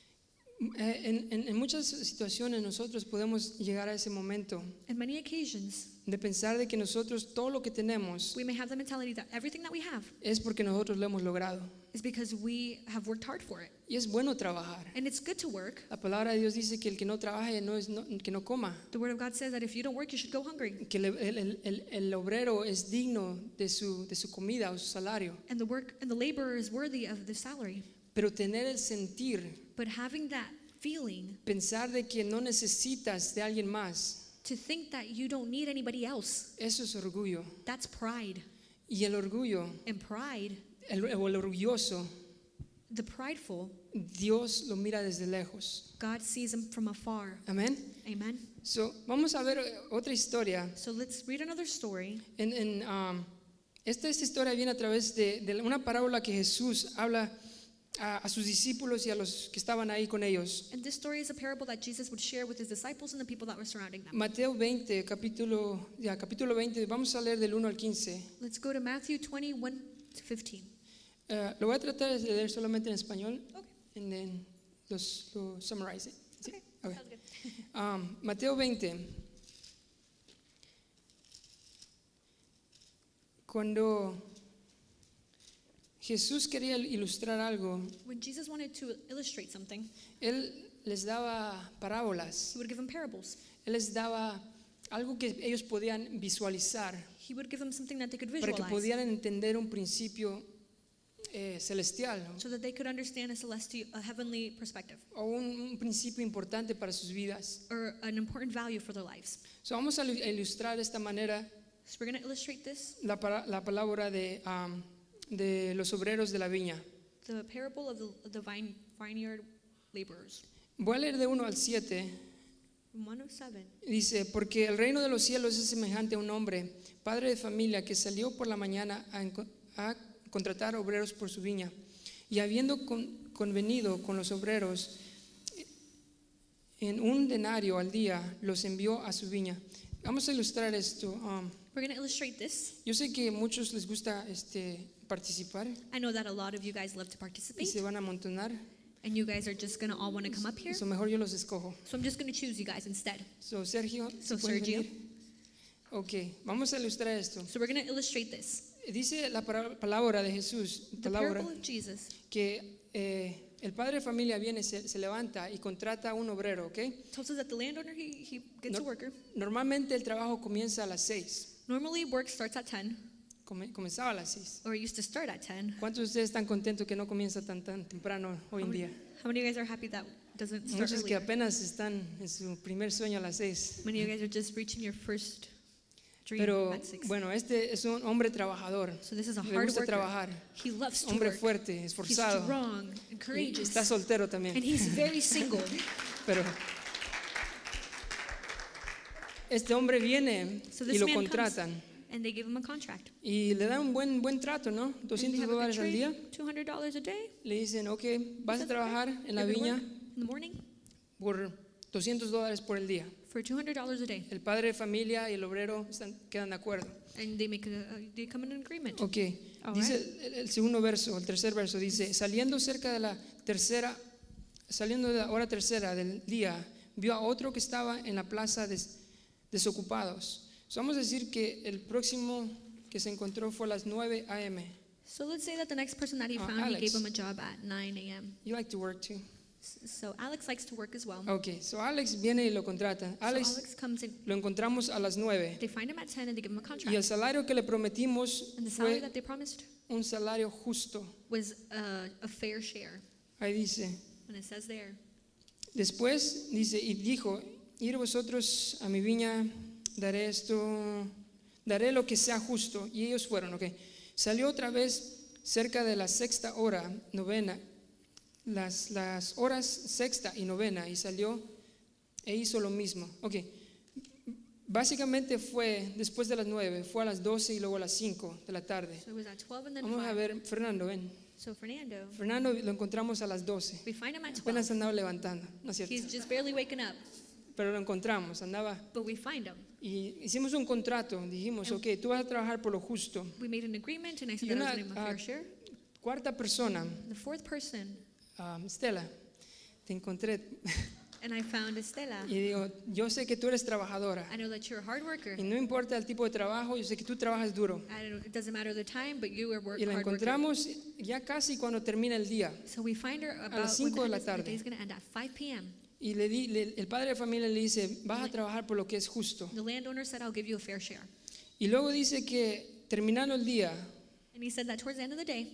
A: En muchas situaciones nosotros podemos llegar a ese momento
B: In many occasions,
A: de pensar de que nosotros todo lo que tenemos
B: we may have the mentality that everything that we have
A: es porque nosotros lo hemos logrado.
B: is because we have worked hard for it.
A: Y es bueno trabajar.
B: And it's good to work.
A: La palabra de Dios dice que el que no trabaje que no coma,
B: The Word of God says that if you don't work, you should go hungry.
A: que el obrero es digno de su comida o su salario.
B: And the laborer is worthy of the salary.
A: Pero tener el sentir,
B: But having that feeling,
A: pensar de que no necesitas de alguien más,
B: to think that you don't need anybody else,
A: eso es orgullo.
B: that's pride.
A: Y el orgullo,
B: And pride,
A: el orgulloso,
B: the prideful,
A: Dios lo mira desde lejos.
B: God sees them from afar.
A: Amén.
B: Amen.
A: So, vamos a ver otra historia.
B: So let's read another story.
A: Esta historia viene a través de una parábola que Jesús habla a sus discípulos y a los que estaban ahí con ellos.
B: And this story is a parable that Jesus would share with his disciples and the people that were surrounding them.
A: Mateo 20, capítulo 20, vamos a leer del 1 al 15.
B: Let's go to Matthew 21 to 15.
A: Lo voy a tratar de leer solamente en español.
B: Okay.
A: And then lo summarize it. ¿Sí?
B: Okay.
A: Okay.
B: Sounds good.
A: Mateo 20. Cuando Jesús quería ilustrar algo,
B: When Jesus wanted to illustrate something,
A: Él les daba parábolas.
B: he would give them parables.
A: Él les daba algo que ellos podían visualizar
B: He would give them something that they could
A: para que
B: visualize
A: pudieran entender un principio celestial, ¿no?
B: so that they could understand a heavenly perspective
A: O un principio importante para sus vidas.
B: or an important value for their lives.
A: So, vamos a ilustrar de esta manera
B: So we're going to illustrate this,
A: la palabra de los obreros de la viña.
B: the parable of the vineyard laborers.
A: Voy a leer de 1 al 7.
B: 107.
A: Dice, porque el reino de los cielos es semejante a un hombre, padre de familia, que salió por la mañana a contratar obreros por su viña. Y habiendo convenido con los obreros en un denario al día, los envió a su viña. Vamos a ilustrar esto.
B: We're going to illustrate this.
A: Yo sé que a muchos les gusta participar
B: I know that a lot of you guys love to
A: y
B: participate,
A: se van a amontonar.
B: and you guys are just going to all want to come up here.
A: So mejor yo los escojo.
B: So I'm just going to choose you guys instead.
A: So, Sergio,
B: So,
A: ¿sí puedes
B: Sergio.
A: venir? Ok, vamos a ilustrar esto.
B: So we're going to illustrate this.
A: Dice la palabra de Jesús,
B: The
A: palabra,
B: parable of Jesus.
A: que el padre de familia viene, se levanta y contrata a un obrero, ¿ok?
B: Tells us that the landowner, he gets a worker.
A: Normalmente el trabajo comienza a las 6.
B: Normally work starts at 10,
A: Comenzaba a las 6.
B: or it used to start at 10.
A: ¿Cuántos de ustedes están contentos que no comienza tan temprano hoy en día?
B: How many of you guys are happy that doesn't start
A: Muchos que
B: earlier?
A: apenas están en su primer sueño a las 6.
B: Many of you guys are just reaching your first dream
A: Pero
B: at 6.
A: bueno, este es un hombre trabajador.
B: So this is a
A: Le
B: hard
A: gusta
B: worker.
A: trabajar.
B: He loves to
A: Hombre
B: work.
A: fuerte,
B: He's
A: esforzado.
B: strong and
A: Y
B: courageous.
A: está soltero también.
B: And he's very single.
A: Pero este hombre viene
B: So
A: y
B: this
A: lo
B: man
A: contratan.
B: And they give him a contract.
A: Y le dan un buen trato, ¿no?
B: And they have a good
A: $200 al
B: trade,
A: día.
B: $200 a day.
A: Le dicen, ok, vas a trabajar en la
B: You're gonna
A: viña
B: work in the morning
A: por $200 por el día.
B: for $200 a day.
A: El padre de familia y el obrero quedan de acuerdo.
B: And they come in an agreement.
A: Ok,
B: All
A: dice
B: right.
A: el segundo verso, el tercer verso, dice, saliendo de la hora tercera del día, vio a otro que estaba en la plaza desocupados. So, vamos a decir que el próximo que se encontró fue a las 9 a.m.
B: So let's say that the next person that he found, he
A: Alex.
B: gave him a job at 9 a.m.
A: You like to work too?
B: So Alex likes to work as well.
A: Ok, so Alex viene y lo contrata.
B: So
A: Alex
B: Alex comes in.
A: lo encontramos a las 9
B: They find him at 10 and they give him a
A: y
B: contract.
A: el salario que le prometimos
B: And the salary
A: fue
B: that they promised
A: un salario justo.
B: was a fair share.
A: Ahí dice,
B: And it says there.
A: después dice, y dijo, ir vosotros a mi viña, daré lo que sea justo. Y ellos fueron, ok. Salió otra vez cerca de la sexta hora, novena, las horas sexta y novena, y salió e hizo lo mismo. Ok. Básicamente fue después de las 9, fue a las 12 y luego a las 5 de la tarde.
B: So it was at 12 and then
A: Vamos a
B: 5.
A: ver, Fernando, ven.
B: So Fernando,
A: Fernando lo encontramos a las 12.
B: we find him at 12.
A: Apenas andaba levantando, ¿no es cierto?
B: He's just barely waking up,
A: Pero lo encontramos, andaba.
B: but we find him.
A: Y hicimos un contrato, dijimos, ok, tú vas a trabajar por lo justo.
B: We made an agreement and I said
A: Y
B: that I
A: una
B: was going to give him a fair share.
A: cuarta persona,
B: The fourth person,
A: Stella, te encontré
B: and I found Estela.
A: y digo, yo sé que tú eres trabajadora
B: I know that you're a hard worker.
A: y no importa el tipo de trabajo, yo sé que tú trabajas duro.
B: It doesn't matter the time, but you are
A: Y la
B: hard worker.
A: encontramos ya casi cuando termina el día.
B: So we find her about
A: las
B: when
A: 5 de la
B: the
A: tarde.
B: day is going to end at 5 p.m.
A: Y el padre de familia le dice, vas a trabajar por lo que es justo.
B: The landowner said, I'll give you a fair share.
A: Y luego dice que terminando el día,
B: And he said that towards the end of the day,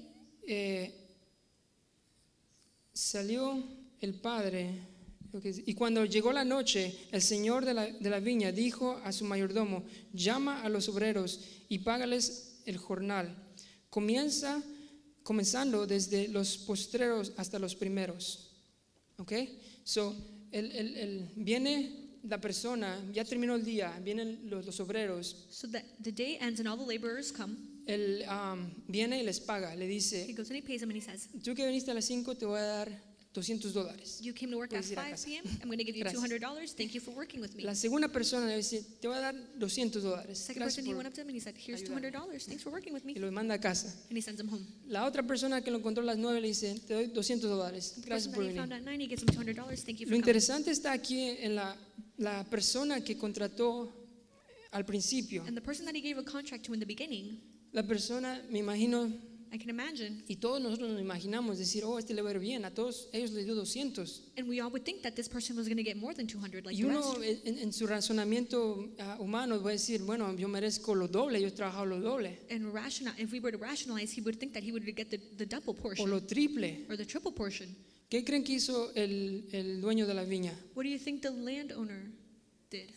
A: salió el padre, y cuando llegó la noche, el señor de la viña dijo a su mayordomo, llama a los obreros y págales el jornal, comenzando desde los postreros hasta los primeros. ¿Ok? So, viene la persona, ya terminó el día, vienen los obreros,
B: so that the day ends and all the laborers come.
A: él viene y les paga, le
B: He
A: dice,
B: goes and he pays them and he says,
A: tú que viniste a las 5 te voy a dar $200.
B: you came to work at
A: Puedes ir a
B: 5
A: casa.
B: p.m. I'm going to give you
A: Gracias.
B: $200. Thank you for working with me.
A: La segunda persona le dice, te voy a dar $200.
B: Second
A: Gracias
B: person, he
A: por-".
B: went up to him and he said, here's
A: ayudarme.
B: $200. Thanks for working with
A: Y
B: me.
A: lo manda a casa.
B: And he sends him home.
A: La otra persona que lo encontró a las 9 le dice, te doy $200.
B: The
A: Gracias
B: person
A: por
B: that he found
A: venir.
B: at 9, he gives him $200. Thank you
A: Lo
B: for coming.
A: interesante está aquí en la persona que contrató al principio.
B: And the person that he gave a contract to in the beginning,
A: La persona, me imagino,
B: I can imagine,
A: y todos nosotros nos imaginamos decir, oh, este le va a ir bien. A todos ellos les dio 200.
B: and we all would think that this person was going to get more than 200 like
A: Y
B: the
A: uno
B: rest.
A: en su razonamiento humano va a decir, bueno, yo merezco lo doble, yo he trabajado lo doble.
B: And if we were to rationalize, he would think that he would get the double
A: O
B: portion
A: lo triple.
B: or the triple portion.
A: ¿Qué creen que hizo el dueño de la viña?
B: What do you think the landowner did?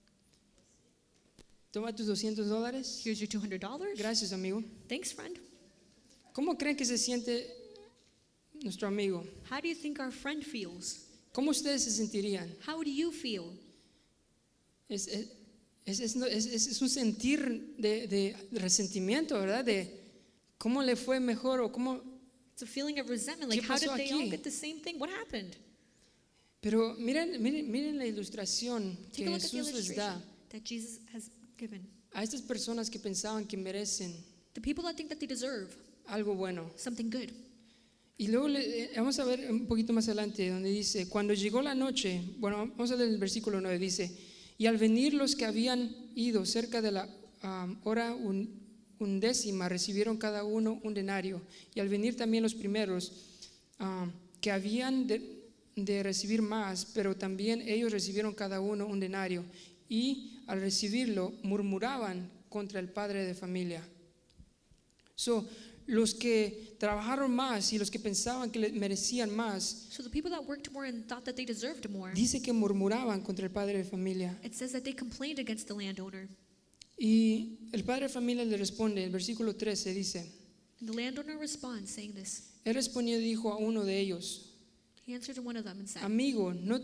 A: Toma tus $200.
B: Here's your $200.
A: Gracias, amigo.
B: Thanks, friend.
A: ¿Cómo creen que se siente nuestro amigo?
B: How do you think our friend feels?
A: ¿Cómo ustedes se sentirían?
B: How do you feel?
A: Es un sentir de resentimiento, ¿verdad? De cómo le fue mejor o cómo.
B: It's a feeling of resentment. Like,
A: ¿Qué
B: how did
A: pasó
B: they all
A: aquí?
B: get the same thing? What happened?
A: Pero miren la ilustración que
B: Take a look at the
A: Jesús les da
B: illustration that Jesus has given.
A: a estas personas que pensaban que merecen
B: The people that think that they deserve
A: algo bueno.
B: something good.
A: Y luego vamos a ver un poquito más adelante donde dice, cuando llegó la noche, bueno, vamos a leer el versículo 9, dice, y al venir los que habían ido cerca de la hora undécima, recibieron cada uno un denario, y al venir también los primeros, que habían de recibir más, pero también ellos recibieron cada uno un denario, y al recibirlo murmuraban contra el padre de familia. So, los que trabajaron más y los que pensaban que merecían más,
B: So the people that worked more and thought that they deserved more,
A: dice que murmuraban contra el padre de familia.
B: it says that they complained against the landowner.
A: Y el padre de familia le responde, el versículo 13 dice,
B: And the landowner responds saying this.
A: él respondió y dijo a uno de ellos,
B: He answered to one of them and said,
A: amigo, no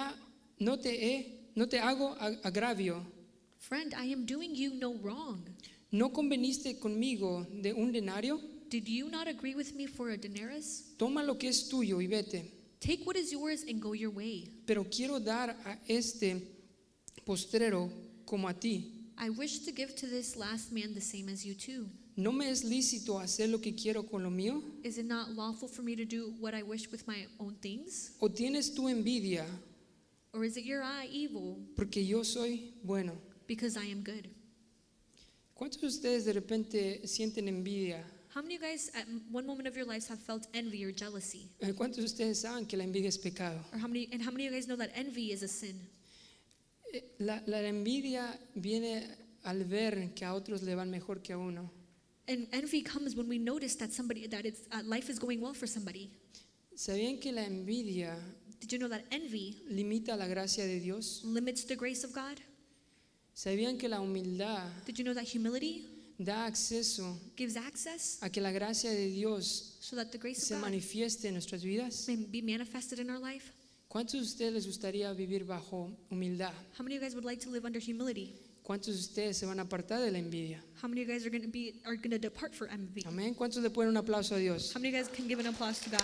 A: te hago agravio.
B: Friend, I am doing you no wrong.
A: ¿no conveniste conmigo de un denario?
B: Did you not agree with me for a denarius?
A: Toma lo que es tuyo y vete.
B: Take what is yours and go your way.
A: Pero quiero dar a este postrero como a ti.
B: I wish to give to this last man the same as you too.
A: ¿No me es lícito hacer lo que quiero con lo mío?
B: Is it not lawful for me to do what I wish with my own things?
A: ¿O tienes tú envidia
B: Or is it your eye evil
A: porque yo soy bueno?
B: because I am good?
A: ¿Cuántos de ustedes de repente sienten envidia?
B: How many of you guys at one moment of your lives have felt envy or jealousy?
A: ¿Cuántos de ustedes saben que la envidia es pecado?
B: Or how many of you guys know that envy is a sin?
A: La envidia viene al ver que a otros le van mejor que a uno.
B: And envy comes when we notice that life is going well for somebody.
A: ¿Sabían que la envidia
B: Did you know that envy
A: limita la gracia de Dios?
B: limits the grace of God?
A: ¿Sabían que la humildad
B: Did you know that humility
A: da acceso
B: gives access
A: a que la gracia de Dios
B: so that the grace
A: se
B: of God
A: manifieste en nuestras vidas?
B: may be manifested in our life?
A: ¿Cuántos de ustedes les gustaría vivir bajo humildad?
B: How many of you guys would like to live under humility?
A: ¿Cuántos de ustedes se van a apartar de la envidia?
B: How many of you guys are going to depart from envy?
A: Amén. ¿Cuántos le ponen un aplauso a Dios?
B: How many of you guys can give an applause to God?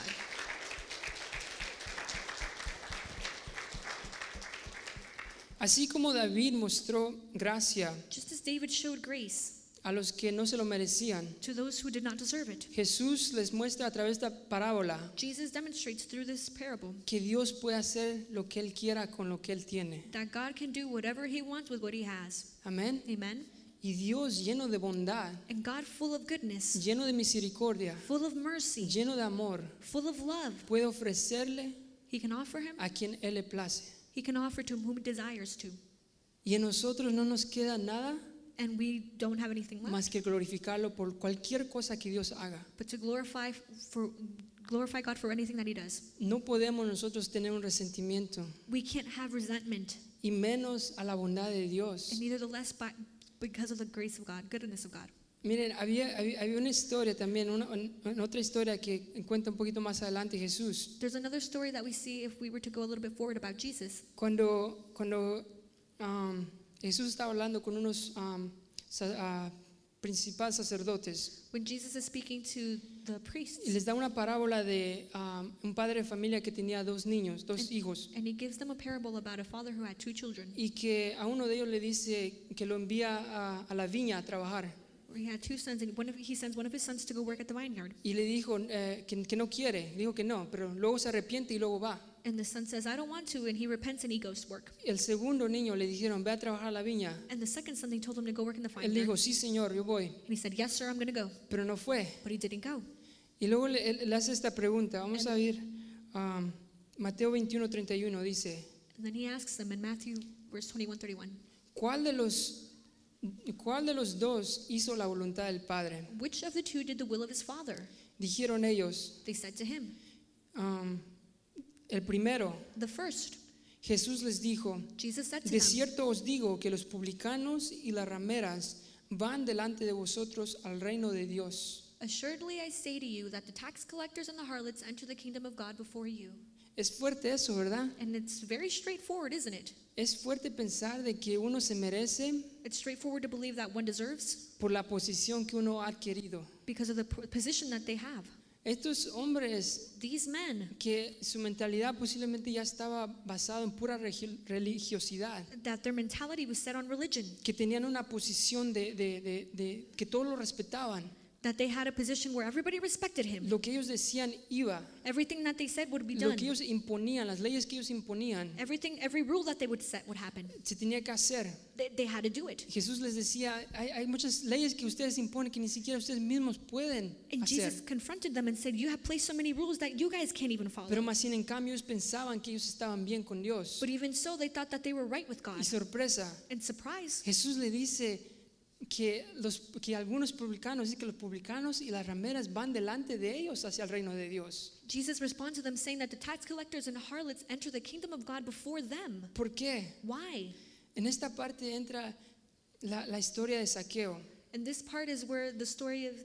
A: Así como David mostró gracia
B: Just as David showed grace
A: a los que no se lo merecían,
B: to those who did not deserve it,
A: Jesús les muestra a través de esta parábola
B: Jesus demonstrates through this parable
A: que Dios puede hacer lo que Él quiera con lo que Él tiene.
B: that God can do whatever he wants with what he has.
A: Amén.
B: Amen.
A: Y Dios lleno de bondad,
B: And God full of goodness,
A: lleno de misericordia,
B: full of mercy,
A: lleno de amor,
B: full of love,
A: puede ofrecerle
B: he can offer him,
A: a quien Él le place.
B: he can offer to whom he desires to.
A: Y en nosotros no nos queda nada
B: And we don't have anything left
A: más que glorificarlo por cualquier cosa que Dios haga.
B: but to glorify God for anything that he does.
A: No podemos nosotros tener un resentimiento
B: We can't have resentment,
A: y menos a la bondad de Dios.
B: and neither the less because of the grace of God, goodness of God.
A: Miren, había una historia también, otra historia que cuenta un poquito más adelante Jesús.
B: There's another story that we see if we were to go a little bit forward about Jesus.
A: Cuando Jesús estaba hablando con unos principales sacerdotes
B: When Jesus is speaking to the priests,
A: y les da una parábola de un padre de familia que tenía dos niños, dos hijos,
B: and he gives them a parable about a father who had two children.
A: y que a uno de ellos le dice que lo envía a la viña a trabajar.
B: He had two sons, and he sends one of his sons to go work at the vineyard.
A: Y le dijo que no quiere, dijo que no, pero luego se arrepiente y luego va.
B: And the son says, I don't want to, and he repents and he goes to work.
A: El segundo niño le dijeron, ve a trabajar a la viña.
B: And the second son, they told him to go work in the
A: Él
B: vineyard.
A: dijo, sí señor, yo voy,
B: And he said, yes, sir, I'm going to go.
A: pero no fue.
B: But he didn't go.
A: Y luego le hace esta pregunta, vamos a ver, Mateo 21:31 dice,
B: And then he asks them in Matthew verse 21:31,
A: ¿cuál de los dos hizo la voluntad del Padre?
B: which of the two did the will of his father?
A: Dijeron ellos,
B: They said to him,
A: el primero.
B: the first.
A: Jesús les dijo,
B: Jesus said to
A: de
B: them,
A: cierto os digo que los publicanos y las rameras van delante de vosotros al reino de Dios.
B: assuredly I say to you that the tax collectors and the harlots enter the kingdom of God before you.
A: Es fuerte eso, ¿verdad?
B: And it's very straightforward, isn't it?
A: Es fuerte pensar de que uno se merece
B: It's straightforward to believe that one deserves
A: por la posición que uno ha adquirido.
B: because of the position that they have.
A: Estos hombres
B: These men,
A: que su mentalidad posiblemente ya estaba basada en pura religiosidad,
B: that their mentality was set on religion,
A: que tenían una posición de que todos lo respetaban.
B: that they had a position where everybody respected him.
A: Lo que ellos decían iba,
B: Everything that they said would be
A: lo
B: done.
A: que ellos imponían, las leyes que ellos imponían,
B: Every rule that they would set would happen.
A: se tenía que hacer.
B: They had to do it.
A: Jesús les decía, hay muchas leyes que ustedes imponen que ni siquiera ustedes mismos pueden
B: And
A: hacer.
B: Jesus confronted them and said, you have placed so many rules that you guys can't even follow.
A: Pero más sin en cambio ellos pensaban que ellos estaban bien con Dios.
B: But even so, they thought that they were right with God.
A: Y sorpresa,
B: And surprise,
A: Jesús le dice que algunos publicanos, dice que los publicanos y las rameras van delante de ellos hacia el reino de Dios.
B: Jesus responds to them saying that the tax collectors and harlots enter the kingdom of God before them.
A: ¿Por qué?
B: Why?
A: En esta parte entra la historia de Saqueo.
B: And this part is where the story of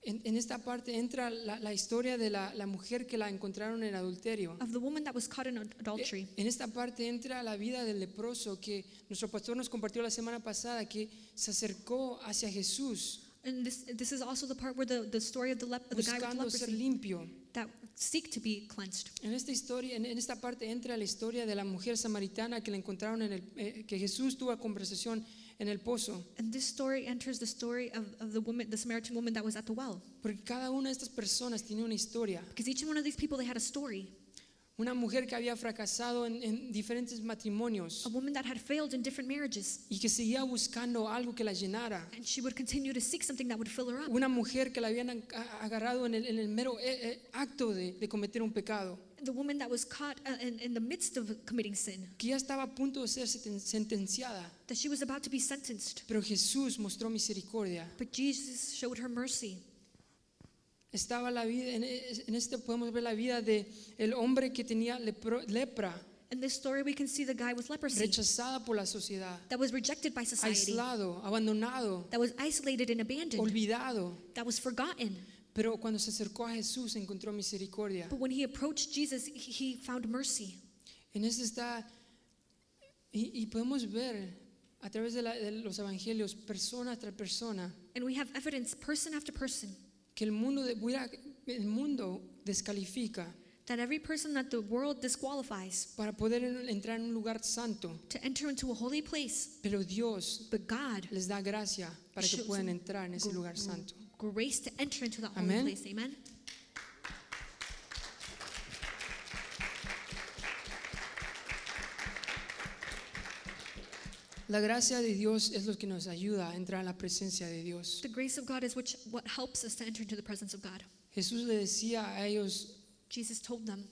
A: En esta parte entra la historia de la mujer que la encontraron en adulterio.
B: of the woman that was caught in adultery.
A: En esta parte entra la vida del leproso que nuestro pastor nos compartió la semana pasada, que se acercó hacia Jesús
B: And this is also the part where the story of the guy with
A: buscando ser
B: leprosy
A: limpio.
B: that seek to be cleansed.
A: En esta historia, en esta parte entra la historia de la mujer samaritana que la encontraron que Jesús tuvo conversación en el pozo.
B: And this story enters the story of the woman, the Samaritan woman that was at the well.
A: Porque cada una de estas personas tiene una historia.
B: Because each one of these people, they had a story.
A: Una mujer que había fracasado en diferentes matrimonios
B: A woman that had failed in different marriages.
A: y que seguía buscando algo que la llenara.
B: And she would continue to seek something that would fill her up.
A: Una mujer que la habían agarrado en el mero acto de cometer un pecado.
B: The woman that was caught in the midst of committing sin.
A: Que ya estaba a punto de ser sentenciada.
B: That she was about to be sentenced.
A: Pero Jesús mostró misericordia.
B: But Jesus showed her mercy.
A: Estaba la vida, en este podemos ver la vida de el hombre que tenía lepra,
B: In this story, we can see the guy with leprosy
A: rechazada por la sociedad,
B: that was rejected by society,
A: aislado, abandonado,
B: that was isolated and abandoned,
A: olvidado.
B: that was forgotten.
A: Pero cuando se acercó a Jesús encontró misericordia.
B: But when he approached Jesus, he found mercy.
A: En este está, y podemos ver a través de los evangelios, persona tras persona,
B: And we have evidence, person after person,
A: que el mundo descalifica
B: that every person that the world disqualifies
A: para poder entrar en un lugar santo.
B: to enter into a holy place,
A: Pero Dios
B: but God
A: les da gracia para que
B: shows
A: puedan
B: them
A: entrar en ese lugar santo.
B: grace to enter into that
A: Amen.
B: holy place. Amen.
A: La gracia de Dios es lo que nos ayuda a entrar en la presencia de Dios.
B: The grace of God is what helps us to enter into the presence of God.
A: Jesús le decía a ellos,
B: Jesus told them.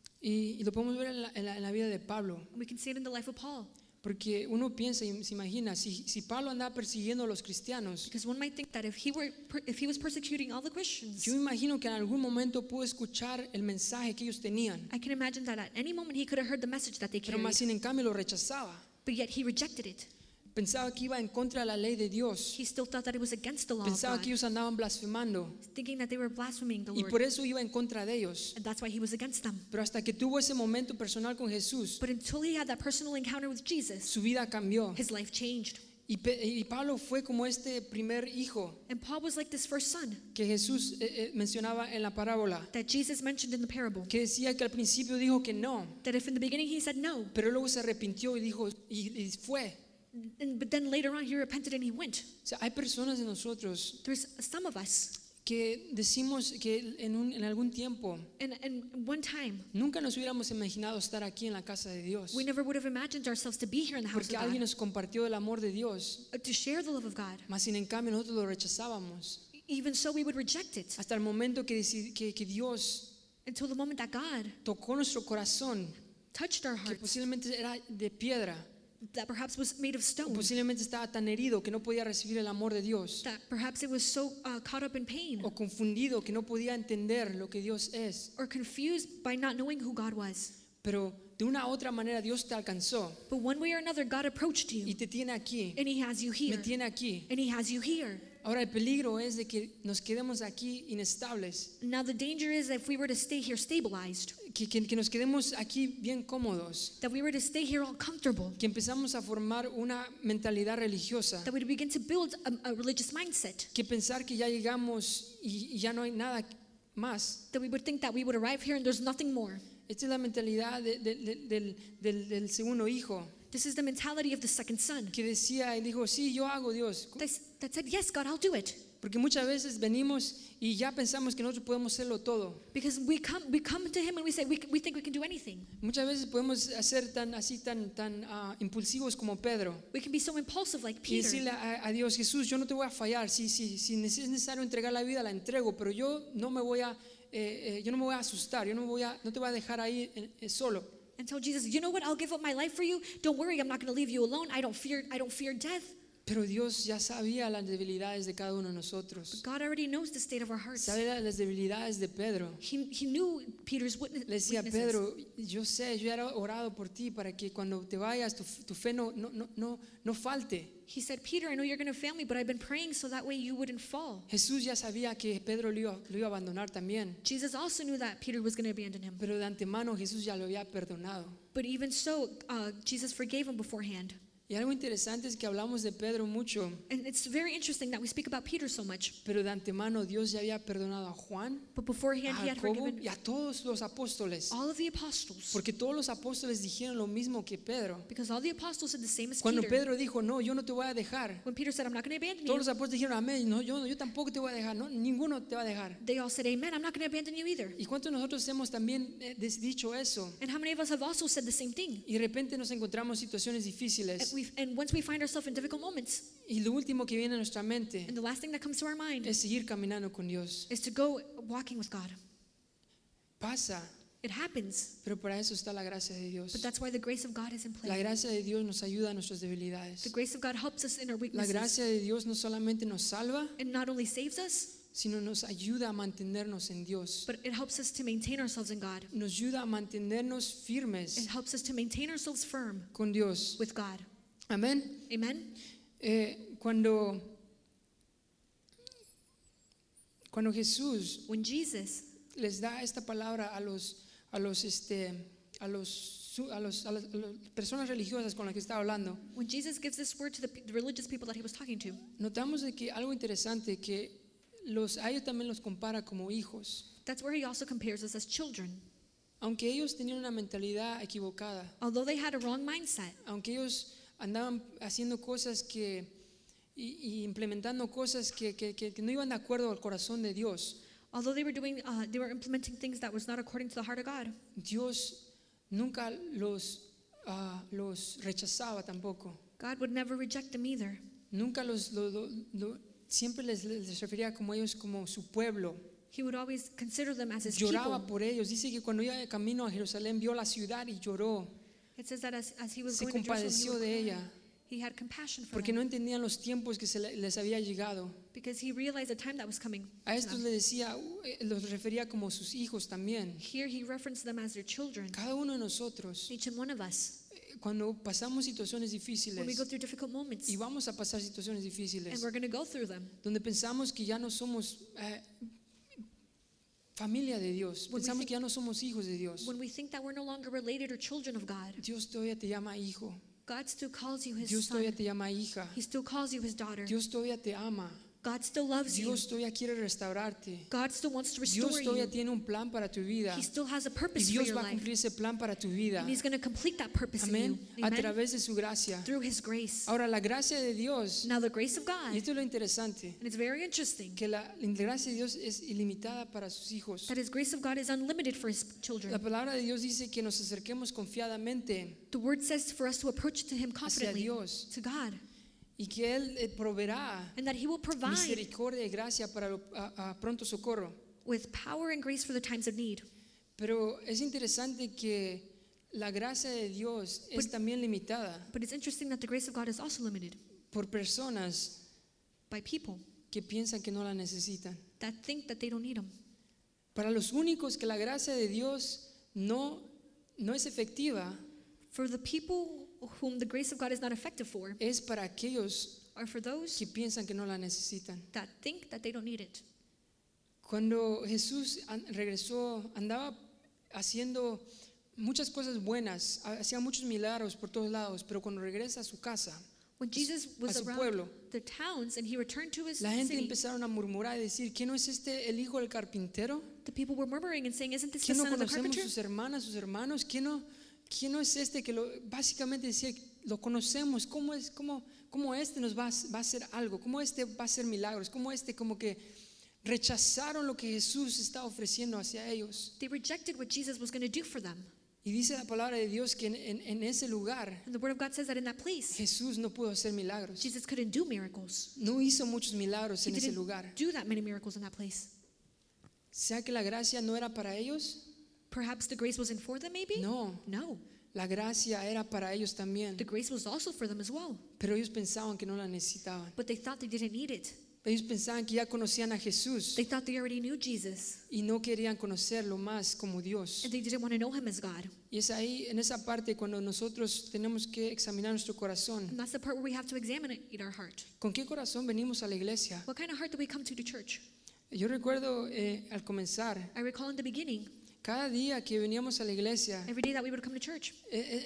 A: y lo podemos ver en la vida de Pablo,
B: We can see it in the life of Paul.
A: porque uno piensa y se imagina, si Pablo andaba persiguiendo a los cristianos,
B: Because one might think that if he was persecuting all the Christians,
A: yo me imagino que en algún momento pudo escuchar el mensaje que ellos tenían,
B: I can imagine that at any moment he could have heard the message that they
A: pero más
B: carried,
A: sin en cambio lo rechazaba.
B: but yet he rejected it.
A: Pensaba que iba en contra de la ley de Dios,
B: He still thought that it was against the law of
A: pensaba que
B: God,
A: ellos andaban blasfemando
B: thinking that they were blaspheming the
A: y
B: Lord,
A: por eso iba en contra de ellos.
B: and that's why he was against them.
A: Pero hasta que tuvo ese momento personal con Jesús,
B: But until he had that personal encounter with Jesus,
A: su vida cambió.
B: his life changed.
A: Y Pablo fue como este primer hijo
B: And Paul was like this first son
A: que Jesús mencionaba en la parábola,
B: that Jesus mentioned in the parable.
A: que decía que al principio dijo que no,
B: That if in the beginning he said no,
A: pero luego se arrepintió y dijo y fue.
B: but then later on he repented and he went.
A: O sea, hay personas de nosotros
B: There's some of us,
A: que decimos que en algún tiempo
B: and one time,
A: nunca nos hubiéramos imaginado estar aquí en la casa de Dios,
B: we never would have imagined ourselves to be here in the house
A: porque
B: of
A: alguien
B: God,
A: nos compartió el amor de Dios,
B: to share the love of God.
A: mas sin en cambio nosotros lo rechazábamos
B: Even so, we would reject it
A: hasta el momento que Dios
B: until the moment that God
A: tocó nuestro corazón,
B: touched our
A: que
B: hearts,
A: posiblemente era de piedra,
B: that perhaps was made of
A: o
B: stone,
A: posiblemente estaba tan herido que no podía recibir el amor de Dios,
B: that perhaps it was so caught up in pain
A: o confundido que no podía entender lo que Dios es.
B: or confused by not knowing who God was.
A: Pero de una u otra manera Dios te alcanzó
B: But one way or another, God approached
A: y
B: you,
A: te tiene aquí,
B: and He has you
A: me
B: here,
A: tiene aquí.
B: and He has you here.
A: Ahora el peligro es de que nos quedemos aquí inestables,
B: Now the danger is that if we were to stay here stabilized,
A: que nos quedemos aquí bien cómodos,
B: that we were to stay here all comfortable,
A: que empezamos a formar una mentalidad religiosa,
B: that we begin to build a religious mindset,
A: que pensar que ya llegamos y ya no hay nada más.
B: that we would think that we would arrive here and there's nothing more.
A: Esta es la mentalidad del segundo hijo,
B: This is the mentality of the second son
A: que decía y dijo, sí, yo hago, Dios.
B: that said, yes, God, I'll do it.
A: Porque muchas veces venimos y ya pensamos que nosotros podemos hacerlo todo.
B: Because we come to Him and we say, we think we can do anything.
A: Muchas veces podemos ser tan impulsivos como Pedro
B: We can be so impulsive like
A: y
B: Peter.
A: decirle a Dios, Jesús, yo no te voy a fallar. Si es necesario entregar la vida, la entrego, pero yo no me voy a asustar, yo no te voy a dejar ahí solo.
B: And tell Jesus, you know what? I'll give up my life for you. Don't worry, I'm not going to leave you alone. I don't fear death.
A: Pero Dios ya sabía las debilidades de cada uno de nosotros.
B: God already knows the state of our hearts.
A: Sabía las debilidades de Pedro.
B: He knew Peter's
A: Le decía,
B: weaknesses.
A: Pedro, yo sé, yo he orado por ti para que cuando te vayas tu fe no falte.
B: He said, Peter, I know you're going to fail me, but I've been praying so that way you wouldn't fall.
A: Jesús ya sabía que Pedro lo iba a abandonar también.
B: Jesus also knew that Peter was going to abandon him.
A: Pero de antemano Jesús ya lo había perdonado.
B: But even so, Jesus forgave him beforehand.
A: Y algo interesante es que hablamos de Pedro mucho,
B: And it's very interesting that we speak about Peter so much.
A: pero de antemano Dios ya había perdonado a Juan,
B: But
A: a
B: beforehand, he had
A: Jacobo
B: forgiven
A: y a todos los apóstoles.
B: all of the apostles.
A: Porque todos los apóstoles dijeron lo mismo que Pedro.
B: Because all the apostles said the same as
A: Cuando
B: Peter.
A: Pedro dijo, no, yo no te voy a dejar.
B: When Peter said, I'm not going to abandon
A: Todos los
B: you,
A: apóstoles dijeron, amén, no, yo tampoco te voy a dejar, no, ninguno te va a dejar.
B: they all said, Amen, I'm not going to abandon you either.
A: ¿Y cuántos de nosotros hemos también dicho eso?
B: And how many of us have also said the same thing?
A: Y de repente nos encontramos situaciones difíciles.
B: And once we find ourselves in difficult moments,
A: Y lo último que viene a nuestra mente
B: and the last thing that comes to our mind
A: es seguir caminando con Dios.
B: is to go walking with God.
A: Pasa,
B: It happens,
A: pero para eso está la gracia de Dios.
B: but that's why the grace of God is in
A: La
B: play.
A: gracia de Dios nos ayuda a nuestras
B: The
A: debilidades.
B: grace of God helps us in our
A: La
B: weaknesses.
A: gracia de Dios no solamente nos salva,
B: It not only saves us,
A: sino nos ayuda a mantenernos en Dios.
B: but it helps us to maintain ourselves in God.
A: Nos ayuda a mantenernos
B: It
A: firmes
B: helps us to maintain ourselves firm
A: con Dios.
B: with God.
A: Amén.
B: Amen?
A: Cuando Jesús
B: When Jesus
A: les da esta palabra a las personas religiosas con las que estaba hablando,
B: gives this word to the religious people that he was talking to,
A: notamos de que algo interesante que a ellos también los compara como hijos,
B: that's where he also compares us as children.
A: aunque ellos tenían una mentalidad equivocada,
B: Although they had a wrong mindset,
A: aunque ellos andaban haciendo cosas y implementando cosas que no iban de acuerdo al corazón de Dios,
B: although they were implementing things that was not according to the heart of God,
A: Dios nunca los rechazaba tampoco.
B: God would never reject them either.
A: Nunca siempre les refería como ellos como su pueblo.
B: He would always consider them as his
A: Lloraba
B: people.
A: por ellos. Dice que cuando iba de camino a Jerusalén vio la ciudad y lloró.
B: It says that as he was
A: Se
B: going to Jerusalem,
A: compadeció
B: he, would
A: de
B: cry.
A: ella
B: He had compassion for
A: porque
B: them
A: no entendían los tiempos que les había llegado.
B: because he realized the time that was coming.
A: A
B: to
A: estos
B: them.
A: le decía, los refería como sus hijos también.
B: Here he referenced them as their children,
A: Cada uno de nosotros,
B: each and one of us.
A: cuando pasamos situaciones
B: When we
A: difíciles,
B: go through difficult moments,
A: y vamos a pasar situaciones
B: and
A: difíciles,
B: we're going to go through them,
A: donde pensamos que ya no somos familia de Dios,
B: When we
A: pensamos
B: think-
A: que ya no somos hijos de Dios.
B: when we think that we're no longer related or children of God,
A: Dios todavía te llama hijo,
B: God still calls you his
A: Dios todavía
B: son.
A: te llama hija,
B: He still calls you his daughter.
A: Dios todavía te ama,
B: God still loves you.
A: Dios todavía quiere restaurarte,
B: God still wants to
A: Dios
B: restore
A: todavía
B: you.
A: tiene un plan para tu vida
B: He still has a
A: y
B: purpose for
A: Dios
B: your
A: va a
B: life.
A: cumplir ese plan para tu vida.
B: And he's going to complete that purpose in
A: Amén.
B: you.
A: A
B: Amen?
A: través de su gracia.
B: Through his grace.
A: Ahora la gracia de Dios,
B: Now the grace of
A: y
B: God,
A: esto es lo interesante,
B: and it's very interesting,
A: que la gracia de Dios es ilimitada para sus hijos.
B: that his grace of God is unlimited for his
A: La
B: children.
A: palabra de Dios dice que nos acerquemos confiadamente
B: The word says for us to approach to him
A: hacia
B: confidently,
A: Dios
B: to God,
A: y que Él proveerá
B: and that he will provide
A: misericordia y gracia para a pronto socorro.
B: with power and grace for the times of need.
A: Pero es interesante que la gracia de Dios es también limitada
B: But it's interesting that the grace of God is also limited
A: por personas
B: by people
A: que piensan que no la necesitan.
B: that think that they don't need him.
A: Para los únicos que la gracia de Dios no es efectiva,
B: For the people whom the grace of God is not effective for,
A: es para aquellos
B: are for those
A: que piensan que no la necesitan.
B: that think that they don't need it.
A: Cuando Jesús regresó, andaba haciendo muchas cosas buenas, hacía muchos milagros por todos lados, pero cuando regresa a su casa,
B: When Jesus was
A: a su
B: around
A: pueblo,
B: the towns and he returned to his
A: la gente
B: city,
A: empezaron a murmurar y decir, ¿qué no es este el hijo del carpintero?
B: the people were murmuring and saying, "Isn't this
A: ¿Qué
B: the
A: no
B: son of the
A: conocemos
B: carpenter?"
A: sus hermanas, sus hermanos? ¿Qué no es este que básicamente decía, lo conocemos? ¿Cómo este nos va a hacer algo? ¿Cómo este va a hacer milagros? ¿Cómo este como que rechazaron lo que Jesús está ofreciendo hacia ellos?
B: They rejected what Jesus was going to do for them.
A: Y dice la palabra de Dios que en ese lugar
B: And the word of God says that in that place,
A: Jesús no pudo hacer milagros.
B: Jesus couldn't do miracles.
A: No hizo muchos milagros
B: He
A: en ese
B: didn't
A: lugar.
B: do that many miracles in that place.
A: ¿Sea que la gracia no era para ellos?
B: Perhaps the grace wasn't for them, maybe?
A: No.
B: No.
A: La gracia era para ellos también,
B: The grace was also for them as well.
A: pero ellos pensaban que no la necesitaban.
B: But they thought they didn't need it.
A: Ellos pensaban que ya conocían a Jesús
B: They thought they already knew Jesus.
A: y no querían conocerlo más como Dios.
B: And they didn't want to know him as God.
A: Y es ahí, en esa parte, cuando nosotros tenemos que examinar nuestro corazón.
B: And that's the part where we have to examine it in our heart.
A: ¿Con qué corazón venimos a la iglesia?
B: What kind of heart do we come to church?
A: Yo recuerdo al comenzar,
B: I recall in the beginning,
A: cada día que veníamos a la iglesia,
B: every day that we would come to church,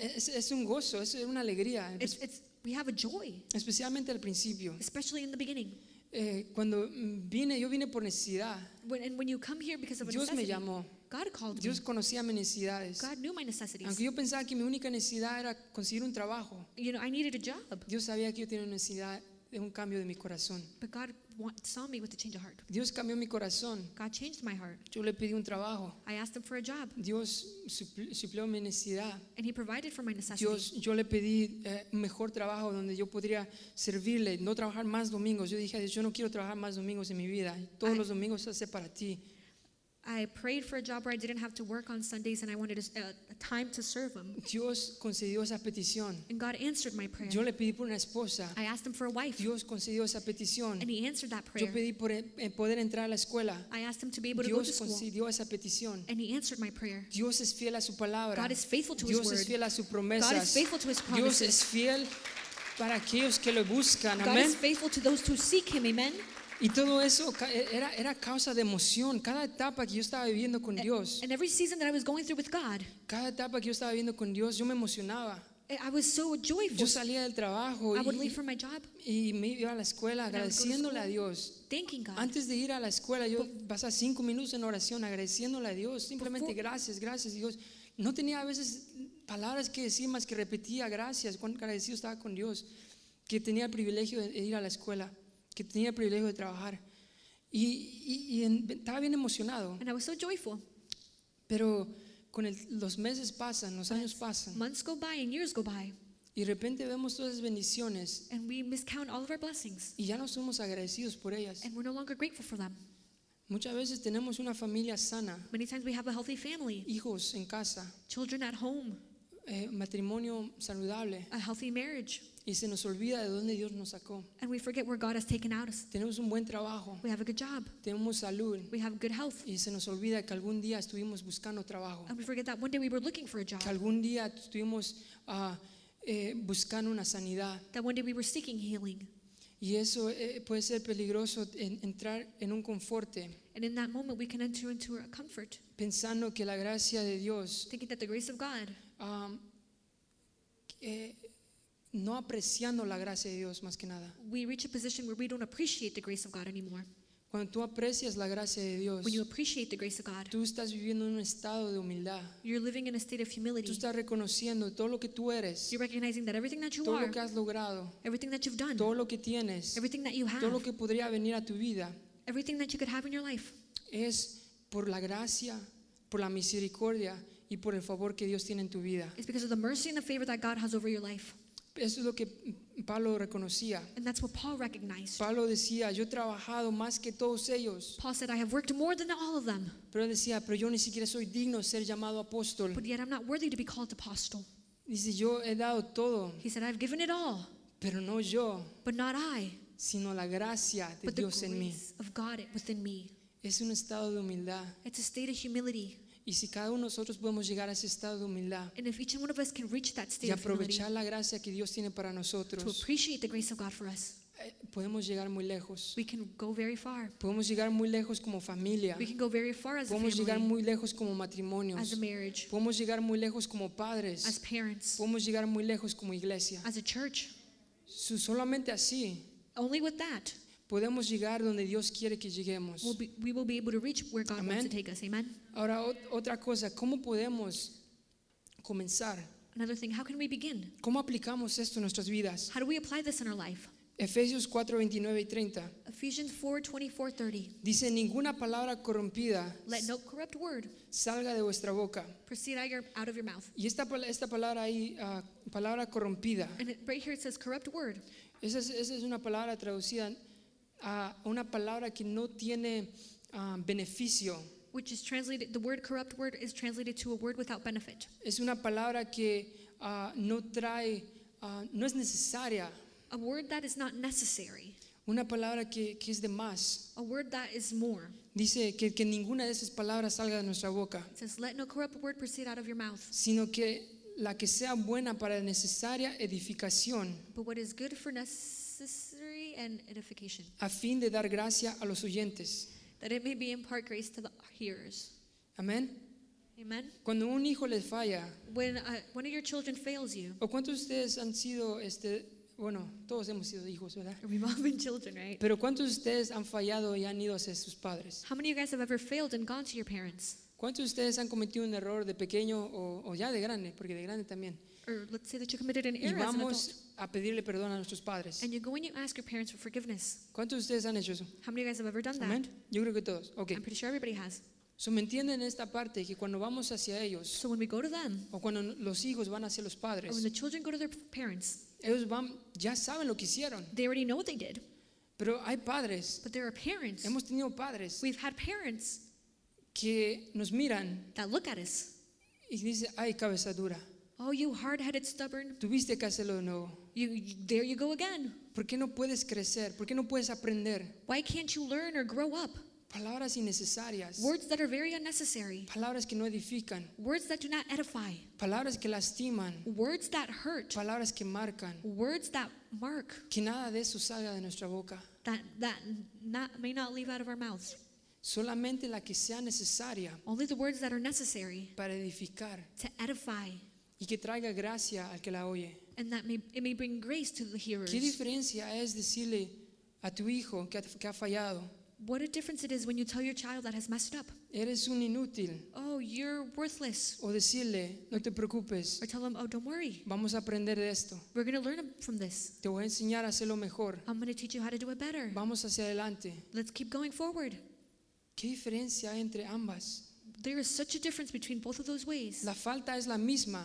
A: es un gozo, es una alegría,
B: we have a joy,
A: especialmente al principio.
B: especially in the beginning.
A: Cuando yo vine por necesidad.
B: When you come here because of a
A: Dios me
B: necessity,
A: llamó.
B: God called me.
A: Dios conocía mis necesidades.
B: God knew my necessities.
A: Aunque yo pensaba que mi única necesidad era conseguir un trabajo,
B: You know, I needed a job,
A: Dios sabía que yo tenía una necesidad de un cambio de mi corazón.
B: but God saw me with a change of heart.
A: Dios cambió mi corazón.
B: God changed my heart.
A: Yo le pedí un trabajo.
B: I asked him for a job,
A: Dios suplió mi necesidad.
B: and he provided for my necessities.
A: Yo le pedí un mejor trabajo donde yo podría servirle, no trabajar más domingos. Yo dije a Dios, yo no quiero trabajar más domingos en mi vida. Todos los domingos se hace para ti.
B: I prayed for a job where I didn't have to work on Sundays, and I wanted a time to serve him.
A: Dios concedió esa petición.
B: And God answered my prayer.
A: Yo le pedí por una esposa.
B: I asked him for a wife,
A: Dios concedió esa petición.
B: and he answered that
A: Yo
B: prayer.
A: pedí por poder entrar a la escuela.
B: I asked him to be able to go to
A: Dios
B: school,
A: concedió esa petición.
B: and he answered my prayer.
A: Dios es fiel a su palabra.
B: God is faithful to his
A: Dios es
B: word.
A: fiel a sus
B: God is
A: promesas.
B: faithful to his
A: Dios
B: promises.
A: es fiel para aquellos que lo buscan.
B: God
A: Amén.
B: is faithful to those who seek him. Amen.
A: Y todo eso era causa de emoción. Cada etapa que yo estaba viviendo con Dios,
B: And every season that I was going through with God,
A: cada etapa que yo estaba viviendo con Dios, yo me emocionaba.
B: I was so joyful.
A: Yo salía del trabajo
B: I would leave for my job,
A: y me iba a la escuela
B: And I would go to
A: agradeciéndole a
B: school.
A: Dios.
B: thanking God.
A: Antes de ir a la escuela, yo pasaba 5 minutos en oración agradeciéndole a Dios. Simplemente gracias, gracias Dios. No tenía a veces palabras que decir más que repetía gracias, cuán agradecido estaba con Dios, que tenía el privilegio de ir a la escuela, que tenía el privilegio de trabajar. Estaba bien emocionado,
B: And I was so joyful.
A: pero los meses pasan, los años pasan,
B: Months go by and years go by,
A: y de repente vemos todas esas bendiciones
B: and we miscount all of our blessings,
A: y ya no somos agradecidos por ellas.
B: and we're no longer grateful for them.
A: Muchas veces tenemos una familia sana,
B: Many times we have a healthy family,
A: hijos en casa,
B: children at home,
A: matrimonio saludable,
B: a healthy marriage,
A: y se nos olvida de dónde Dios nos sacó.
B: and we forget where God has taken us.
A: Tenemos un buen trabajo,
B: We have a good job,
A: tenemos salud,
B: we have good health,
A: y se nos olvida que algún día estuvimos buscando trabajo,
B: and we forget that one day we were looking for a job,
A: que algún día estuvimos buscando una sanidad.
B: that one day we were seeking healing.
A: Y eso puede ser peligroso, entrar en un conforte,
B: And in that moment, we can enter into a comfort,
A: pensando que la gracia de Dios,
B: thinking that the grace of God,
A: no apreciando la gracia de Dios más que nada.
B: we reach a position where we don't appreciate the grace of God anymore.
A: Cuando tú aprecias la gracia de Dios,
B: When you appreciate the grace of God,
A: tú estás viviendo en un estado de humildad.
B: you're living in a state of
A: Tú
B: humility.
A: estás reconociendo todo lo que tú eres,
B: You're recognizing that everything that you
A: todo
B: are,
A: lo que has logrado,
B: everything that you've done,
A: todo lo que tienes,
B: everything that you
A: todo lo
B: have,
A: que podría venir a tu vida,
B: everything that you could have in your life,
A: es por la gracia, por la misericordia y por el favor que Dios tiene en tu vida.
B: is because of the mercy and the favor that God has over your life.
A: Eso es lo que Pablo reconocía.
B: And that's what Paul recognized.
A: Pablo decía, yo he trabajado más que todos ellos,
B: Paul said, I have worked more than all of them,
A: pero él decía, pero yo ni siquiera soy digno de ser llamado apóstol.
B: but yet I'm not worthy to be called apostle.
A: Dice, yo he dado todo,
B: He said, I've given it all,
A: pero no yo,
B: but not I,
A: sino la gracia de
B: but the
A: Dios en mí.
B: grace of God within me.
A: Es un estado de humildad.
B: It's a state of humility.
A: Y si cada uno de nosotros podemos llegar a ese estado de humildad
B: And if each one of us can reach that
A: y
B: state of humility,
A: aprovechar la gracia que Dios tiene para
B: to
A: nosotros,
B: appreciate the grace of God for us,
A: podemos llegar muy lejos.
B: we can go very far.
A: Podemos llegar muy lejos como familia.
B: We can go very far as a
A: Podemos llegar
B: family,
A: muy lejos como
B: as
A: matrimonios.
B: a marriage,
A: Podemos llegar muy lejos como
B: as
A: padres.
B: parents,
A: Podemos llegar muy lejos como iglesia.
B: as a church.
A: Solamente así
B: Only with that
A: podemos llegar donde Dios quiere que lleguemos.
B: we will be able to reach where God wants
A: Amen.
B: to take us. Amen.
A: Ahora, otra cosa, ¿cómo podemos comenzar?
B: Another thing, how can we begin?
A: ¿Cómo aplicamos esto en nuestras vidas?
B: How do we apply this in our life?
A: Efesios 4, 29 y 30.
B: Ephesians 4:24-30.
A: Dice, ninguna palabra corrompida
B: Let no corrupt word
A: salga de vuestra boca.
B: proceed out of your mouth.
A: Y esta palabra ahí, palabra corrompida,
B: And right here it says corrupt word.
A: esa es una palabra traducida a una palabra que no tiene beneficio
B: which is translated, the word corrupt word is translated to a word without benefit.
A: Es una palabra que no trae, no es necesaria.
B: A word that is not necessary.
A: Una palabra que es de más.
B: A word that is more.
A: Dice que ninguna de esas palabras salga de nuestra boca,
B: It says, let no corrupt word proceed out of your mouth,
A: sino que la que sea buena para necesaria edificación,
B: but what is good for necessary and edification,
A: a fin de dar gracia a los oyentes.
B: that it may be impart grace to the hearers.
A: Amén.
B: Amen.
A: Cuando un hijo les falla,
B: When one of your children fails you,
A: o cuántos de ustedes han sido, bueno, todos hemos sido hijos, ¿verdad?
B: we've all been children, right?
A: Pero cuántos de ustedes han fallado y han ido hacia sus padres?
B: How many of you guys have ever failed and gone to your parents?
A: ¿Cuántos de ustedes han cometido un error de pequeño o ya de grande? Porque de grande también.
B: Or let's say that you committed an
A: Y
B: error as an adult,
A: vamos a pedirle perdón a nuestros padres.
B: and you go and you ask your parents for forgiveness.
A: ¿Cuántos de ustedes han hecho eso?
B: How many of you guys have ever done that?
A: Amén. Yo creo que todos. Ok.
B: I'm pretty sure everybody has.
A: So, ¿me entienden esta parte? Que cuando vamos hacia ellos,
B: So when we go to them,
A: o cuando los hijos van hacia los
B: or when
A: padres,
B: the children go to their parents,
A: ellos ya saben lo que hicieron.
B: they already know what they did.
A: Pero hay padres,
B: But there are parents.
A: hemos tenido padres
B: We've had parents
A: que nos miran
B: that look at us.
A: y dicen, ay, cabeza dura,
B: Oh, you hard-headed, stubborn.
A: tuviste que hacerlo de nuevo.
B: There you go again.
A: ¿Por qué no puedes crecer? ¿Por qué no puedes aprender?
B: Why can't you learn or grow up?
A: Palabras innecesarias,
B: Words that are very unnecessary.
A: palabras que no edifican,
B: Words that do not edify.
A: palabras que lastiman,
B: Words that hurt.
A: palabras que marcan.
B: Words that mark.
A: Que nada de eso salga de nuestra boca.
B: That may not leave out of our mouths.
A: Solamente la que sea necesaria
B: Only the words that are necessary
A: para edificar
B: to edify,
A: y que traiga gracia al que la oye.
B: and that it may bring grace to the hearers.
A: ¿Qué diferencia es decirle a tu hijo que ha fallado?
B: What a difference it is when you tell your child that has messed up,
A: Eres un inútil.
B: oh, you're worthless.
A: O decirle, no te preocupes,
B: Or tell them, oh, don't worry.
A: vamos a aprender de esto.
B: We're going to learn from this.
A: Te voy a enseñar a hacerlo mejor.
B: I'm going to teach you how to do it better.
A: Vamos hacia adelante.
B: Let's keep going forward.
A: ¿Qué diferencia hay entre ambas?
B: There is such a difference between both of those ways.
A: La falta es la misma.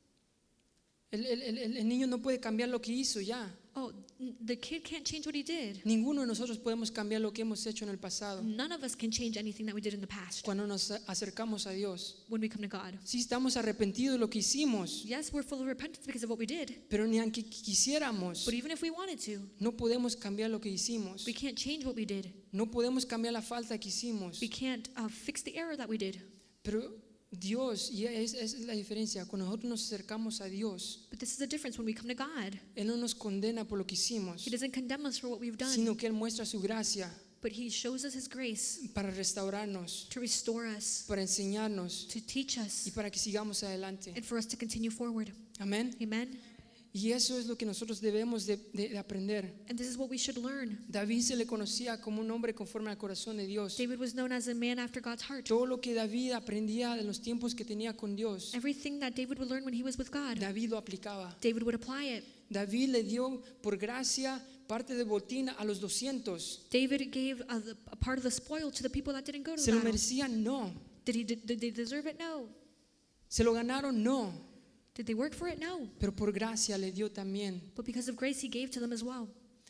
A: El niño no puede cambiar lo que hizo ya.
B: Oh, the kid can't change what he did.
A: Ninguno de nosotros podemos cambiar lo que hemos hecho en el pasado.
B: None of us can change anything that we did in the past
A: Cuando nos acercamos a Dios,
B: when we come to God.
A: sí estamos arrepentidos de lo que hicimos,
B: Yes, we're full of repentance because of what we did.
A: pero ni aunque quisiéramos,
B: But even if we wanted to,
A: no podemos cambiar lo que hicimos.
B: we can't change what we did.
A: No podemos cambiar la falta que hicimos.
B: We can't fix the error that we did.
A: Pero Dios, y es la diferencia, cuando nosotros nos acercamos a Dios,
B: But this is the difference when we come to God.
A: Él no nos condena por lo que hicimos,
B: He doesn't condemn us for what we've done,
A: sino que Él muestra su gracia
B: but He shows us His grace
A: para restaurarnos,
B: to restore us,
A: para enseñarnos
B: to teach us,
A: y para que sigamos adelante.
B: and for us to continue forward.
A: Amén.
B: Amen.
A: Y eso es lo que nosotros debemos de aprender.
B: And this is what we should learn.
A: David se le conocía como un hombre conforme al corazón de Dios.
B: David was known as a man after God's heart.
A: Todo lo que David aprendía de los tiempos que tenía con Dios,
B: Everything that David would learn when he was with God,
A: David lo aplicaba.
B: David would apply it.
A: David le dio por gracia parte de botín a los 200.
B: David gave a part of the spoil to the people that didn't go to
A: ¿Se
B: the
A: lo
B: battle.
A: merecían? No.
B: Did they deserve it? No.
A: ¿Se lo ganaron? No.
B: Did they work for it? No.
A: Pero por gracia le dio también.
B: But because of grace, he gave to them as well.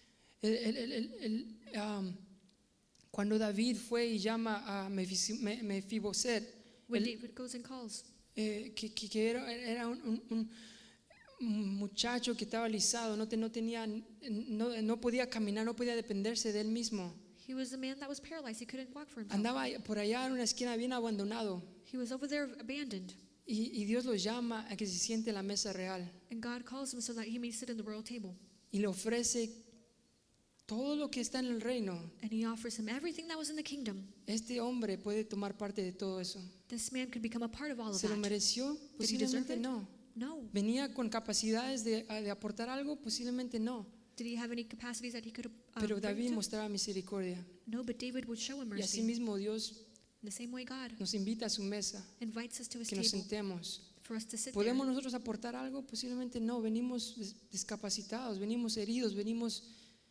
A: Cuando David fue y llama a Mefiboset,
B: When David goes and calls,
A: que era un muchacho que estaba alisado, no podía caminar, no podía dependerse de él mismo.
B: he was a man that was paralyzed. He couldn't walk for himself.
A: Andaba por allá en una esquina bien abandonado.
B: He was over there abandoned.
A: Y Dios lo llama a que se siente en la mesa real
B: And God calls him so that he may sit in the royal table.
A: y le ofrece todo lo que está en el reino.
B: And he offers him everything that was in the kingdom.
A: Este hombre puede tomar parte de todo eso.
B: This man could become a part of all of
A: ¿Se lo
B: that.
A: mereció?
B: Did he deserve
A: Posiblemente
B: it?
A: no.
B: No.
A: ¿Venía con capacidades de aportar algo? Posiblemente no.
B: Did he have any capacities that he could
A: Pero
B: bring
A: David
B: to?
A: mostraba misericordia.
B: No, but David would show him
A: Y
B: mercy.
A: asimismo Dios
B: In the same way, God
A: nos invita a su mesa,
B: invites us to his
A: que nos
B: table
A: sentemos.
B: for us to sit there.
A: ¿Podemos nosotros aportar algo? Posiblemente no. Venimos discapacitados, venimos heridos, venimos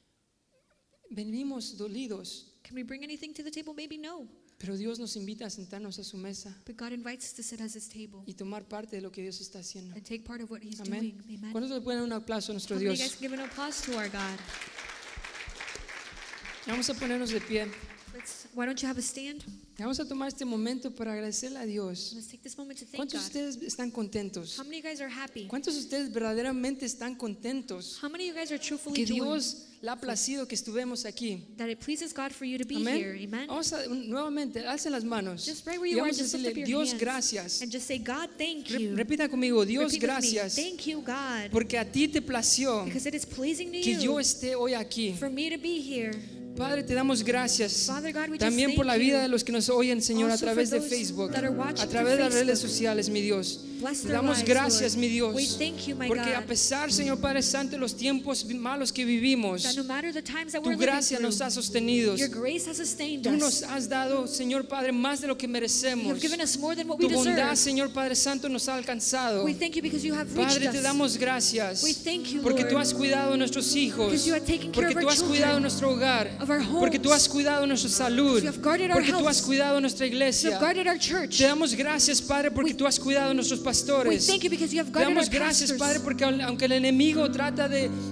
A: dolidos.
B: Can we bring anything to the table? Maybe no.
A: Pero Dios nos invita a sentarnos a su mesa
B: But God invites us to sit at his table
A: y tomar parte de lo que Dios está haciendo.
B: and take part of what he's
A: Amén.
B: doing. Amen.
A: ¿Cuántos le pueden dar un aplauso a nuestro
B: How many of
A: Dios?
B: you guys give an applause to our God?
A: Vamos a ponernos de pie.
B: Why don't you have a stand?
A: Vamos a tomar este momento para agradecerle a Dios.
B: Let's take this moment to thank
A: ¿Cuántos de
B: God.
A: ustedes están contentos?
B: How many of you guys are happy?
A: ¿Cuántos de ustedes verdaderamente están contentos
B: How many of you guys are truthfully
A: que
B: joyful
A: Dios le ha placido que estuvemos aquí?
B: that it pleases God for you to be
A: Amén.
B: here? Amen.
A: Vamos a nuevamente, alcen las manos
B: Just right where
A: y
B: you are,
A: vamos a
B: just lift
A: decirle,
B: up your
A: Dios,
B: hands
A: gracias.
B: and just say, God, thank you.
A: Repita conmigo, Dios,
B: Repeat with me.
A: gracias,
B: Thank you, God,
A: porque a ti te plació
B: because it is pleasing to
A: que yo
B: you
A: esté hoy aquí.
B: for me to be here.
A: Padre, te damos gracias
B: Father God, we just
A: también por la
B: thank
A: vida
B: you.
A: de los que nos oyen, Señor, a
B: Also
A: través
B: for
A: de
B: those
A: Facebook,
B: that are watching
A: a través de
B: through
A: las redes
B: Facebook.
A: sociales, mi Dios.
B: Bless
A: Te
B: their
A: damos
B: lives,
A: gracias,
B: Lord.
A: mi Dios,
B: We thank you, my
A: porque a
B: God,
A: pesar, Señor Padre Santo, de los tiempos malos que vivimos,
B: that no matter the times that
A: tu
B: we're living
A: gracia
B: through,
A: nos ha sostenido.
B: your grace has sustained
A: Tú nos
B: us.
A: has dado, Señor Padre, más de lo que
B: You
A: merecemos.
B: have given us more than what we
A: Tu bondad,
B: deserve.
A: Señor Padre Santo, nos ha alcanzado.
B: We thank you because you have reached
A: Padre, te
B: us.
A: damos gracias
B: We thank you,
A: porque tú
B: Lord,
A: has cuidado de nuestros hijos,
B: because you have taken care
A: porque
B: of our
A: tú has
B: children,
A: cuidado de nuestro hogar,
B: of our homes,
A: porque tú has cuidado de nuestra salud,
B: you have guarded our
A: porque tú
B: health,
A: has cuidado de nuestra
B: you
A: iglesia.
B: have guarded our church.
A: Te damos gracias, Padre, porque tú has cuidado de nuestros
B: We
A: pastores.
B: thank you because you have
A: Te
B: guarded our
A: damos gracias,
B: pastors.
A: Padre, porque aunque el enemigo trata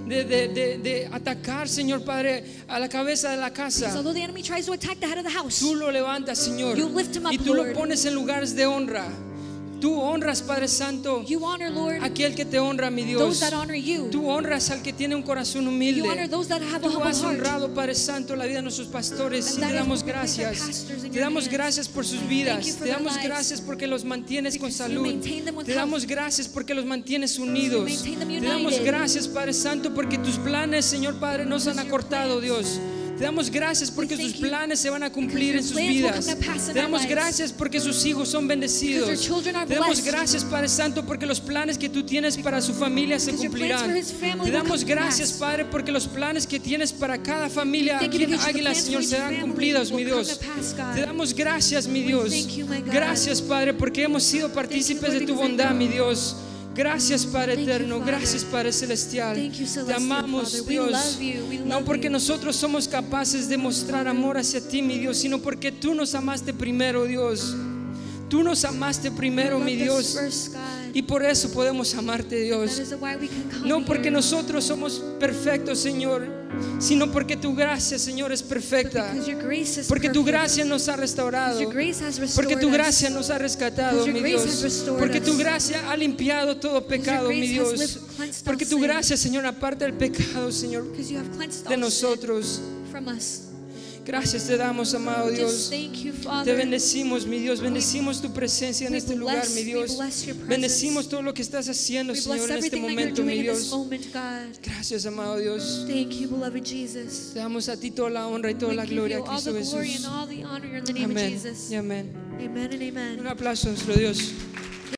A: de atacar, Señor Padre, a la cabeza de la
B: Because
A: casa,
B: although the enemy tries to attack the head of the house,
A: tú lo levantas, Señor,
B: You lift him up,
A: y tú lo
B: Lord.
A: pones en lugares de honra. Tú honras, Padre Santo,
B: you honor, Lord,
A: aquel que te honra, mi
B: those
A: Dios.
B: that honor you.
A: Tú honras al que tiene un corazón
B: You honor
A: humilde.
B: those that have a
A: Tú
B: humble
A: has
B: heart.
A: honrado, Padre Santo, la vida de nuestros pastores
B: And
A: y
B: that
A: te
B: is
A: damos
B: what we place our
A: gracias.
B: pastors in
A: Te
B: your
A: damos
B: hands.
A: gracias por sus
B: Thank
A: vidas.
B: you for
A: Te
B: their
A: damos
B: lives.
A: gracias porque los mantienes con
B: Because you
A: salud.
B: maintain them with
A: Te damos
B: health.
A: gracias porque los mantienes unidos.
B: maintain them
A: Te damos
B: united.
A: gracias, Padre Santo, porque tus planes, Señor Padre, no se han
B: Because your
A: acortado,
B: plans-
A: Dios. Te damos gracias porque
B: thank
A: sus
B: you
A: planes se van a cumplir en
B: your
A: sus
B: plans will
A: vidas.
B: come to pass in
A: Te
B: our
A: damos
B: lives.
A: gracias porque sus hijos son bendecidos.
B: Because your children are
A: Te damos
B: blessed.
A: gracias, Padre Santo, porque los planes que tú tienes para su familia se
B: Because your plans
A: cumplirán.
B: for his family
A: Te
B: will
A: damos
B: come to
A: gracias,
B: pass.
A: Padre, porque los planes que tienes para cada familia
B: Thank you
A: aquí en
B: because the
A: Águila,
B: plans
A: Señor,
B: for each
A: serán
B: family
A: cumplidos, mi
B: will come
A: Dios.
B: to pass, God.
A: Te damos gracias, mi
B: We
A: Dios.
B: thank you, my God.
A: Gracias, Padre, porque hemos sido partícipes
B: Lord,
A: de tu
B: because I
A: bondad,
B: know.
A: mi Dios. Gracias, Padre
B: Thank you,
A: eterno.
B: Father.
A: Gracias, Padre celestial.
B: Thank you,
A: Te
B: celestial
A: amamos,
B: Father. We
A: Dios.
B: love you. We
A: No
B: love
A: porque
B: you.
A: nosotros somos capaces de mostrar amor hacia ti, mi Dios, sino porque tú nos amaste primero, Dios. Tú nos amaste primero,
B: You
A: mi
B: loved us
A: Dios.
B: first, God.
A: Y por eso podemos amarte,
B: That
A: Dios.
B: is why we can come
A: No porque
B: here.
A: nosotros somos perfectos, Señor, sino porque tu gracia, Señor, es
B: But
A: perfecta.
B: because your grace is
A: Porque tu
B: perfect.
A: gracia nos ha
B: Because
A: restaurado.
B: your grace has restored
A: Porque tu
B: us.
A: gracia nos ha rescatado,
B: Because
A: mi
B: your grace
A: Dios.
B: has restored
A: Porque tu
B: us.
A: gracia ha limpiado todo pecado,
B: grace
A: mi
B: has
A: Dios.
B: cleansed
A: Porque
B: our
A: tu
B: sin.
A: gracia, Señor, aparte del pecado, Señor,
B: Because you have cleansed
A: de
B: all
A: nosotros.
B: sin from us.
A: Gracias te damos, amado
B: Just
A: Dios.
B: thank you,
A: Te
B: Father.
A: bendecimos, mi Dios. Bendecimos tu presencia en
B: we
A: este lugar,
B: bless-
A: mi
B: we
A: Dios.
B: bless your presence.
A: Bendecimos todo lo que estás haciendo,
B: We bless
A: Señor, en este
B: everything that you're
A: momento,
B: doing
A: mi
B: in this
A: Dios.
B: moment, God.
A: Gracias, amado Dios.
B: Thank you, beloved Jesus.
A: Te damos a ti toda la honra y toda
B: We
A: la
B: give
A: gloria,
B: you all
A: Cristo
B: the glory
A: Jesús.
B: and all the honor in the name of
A: Amén
B: Jesus.
A: y amén.
B: Amen and amen.
A: Un aplauso a nuestro Dios.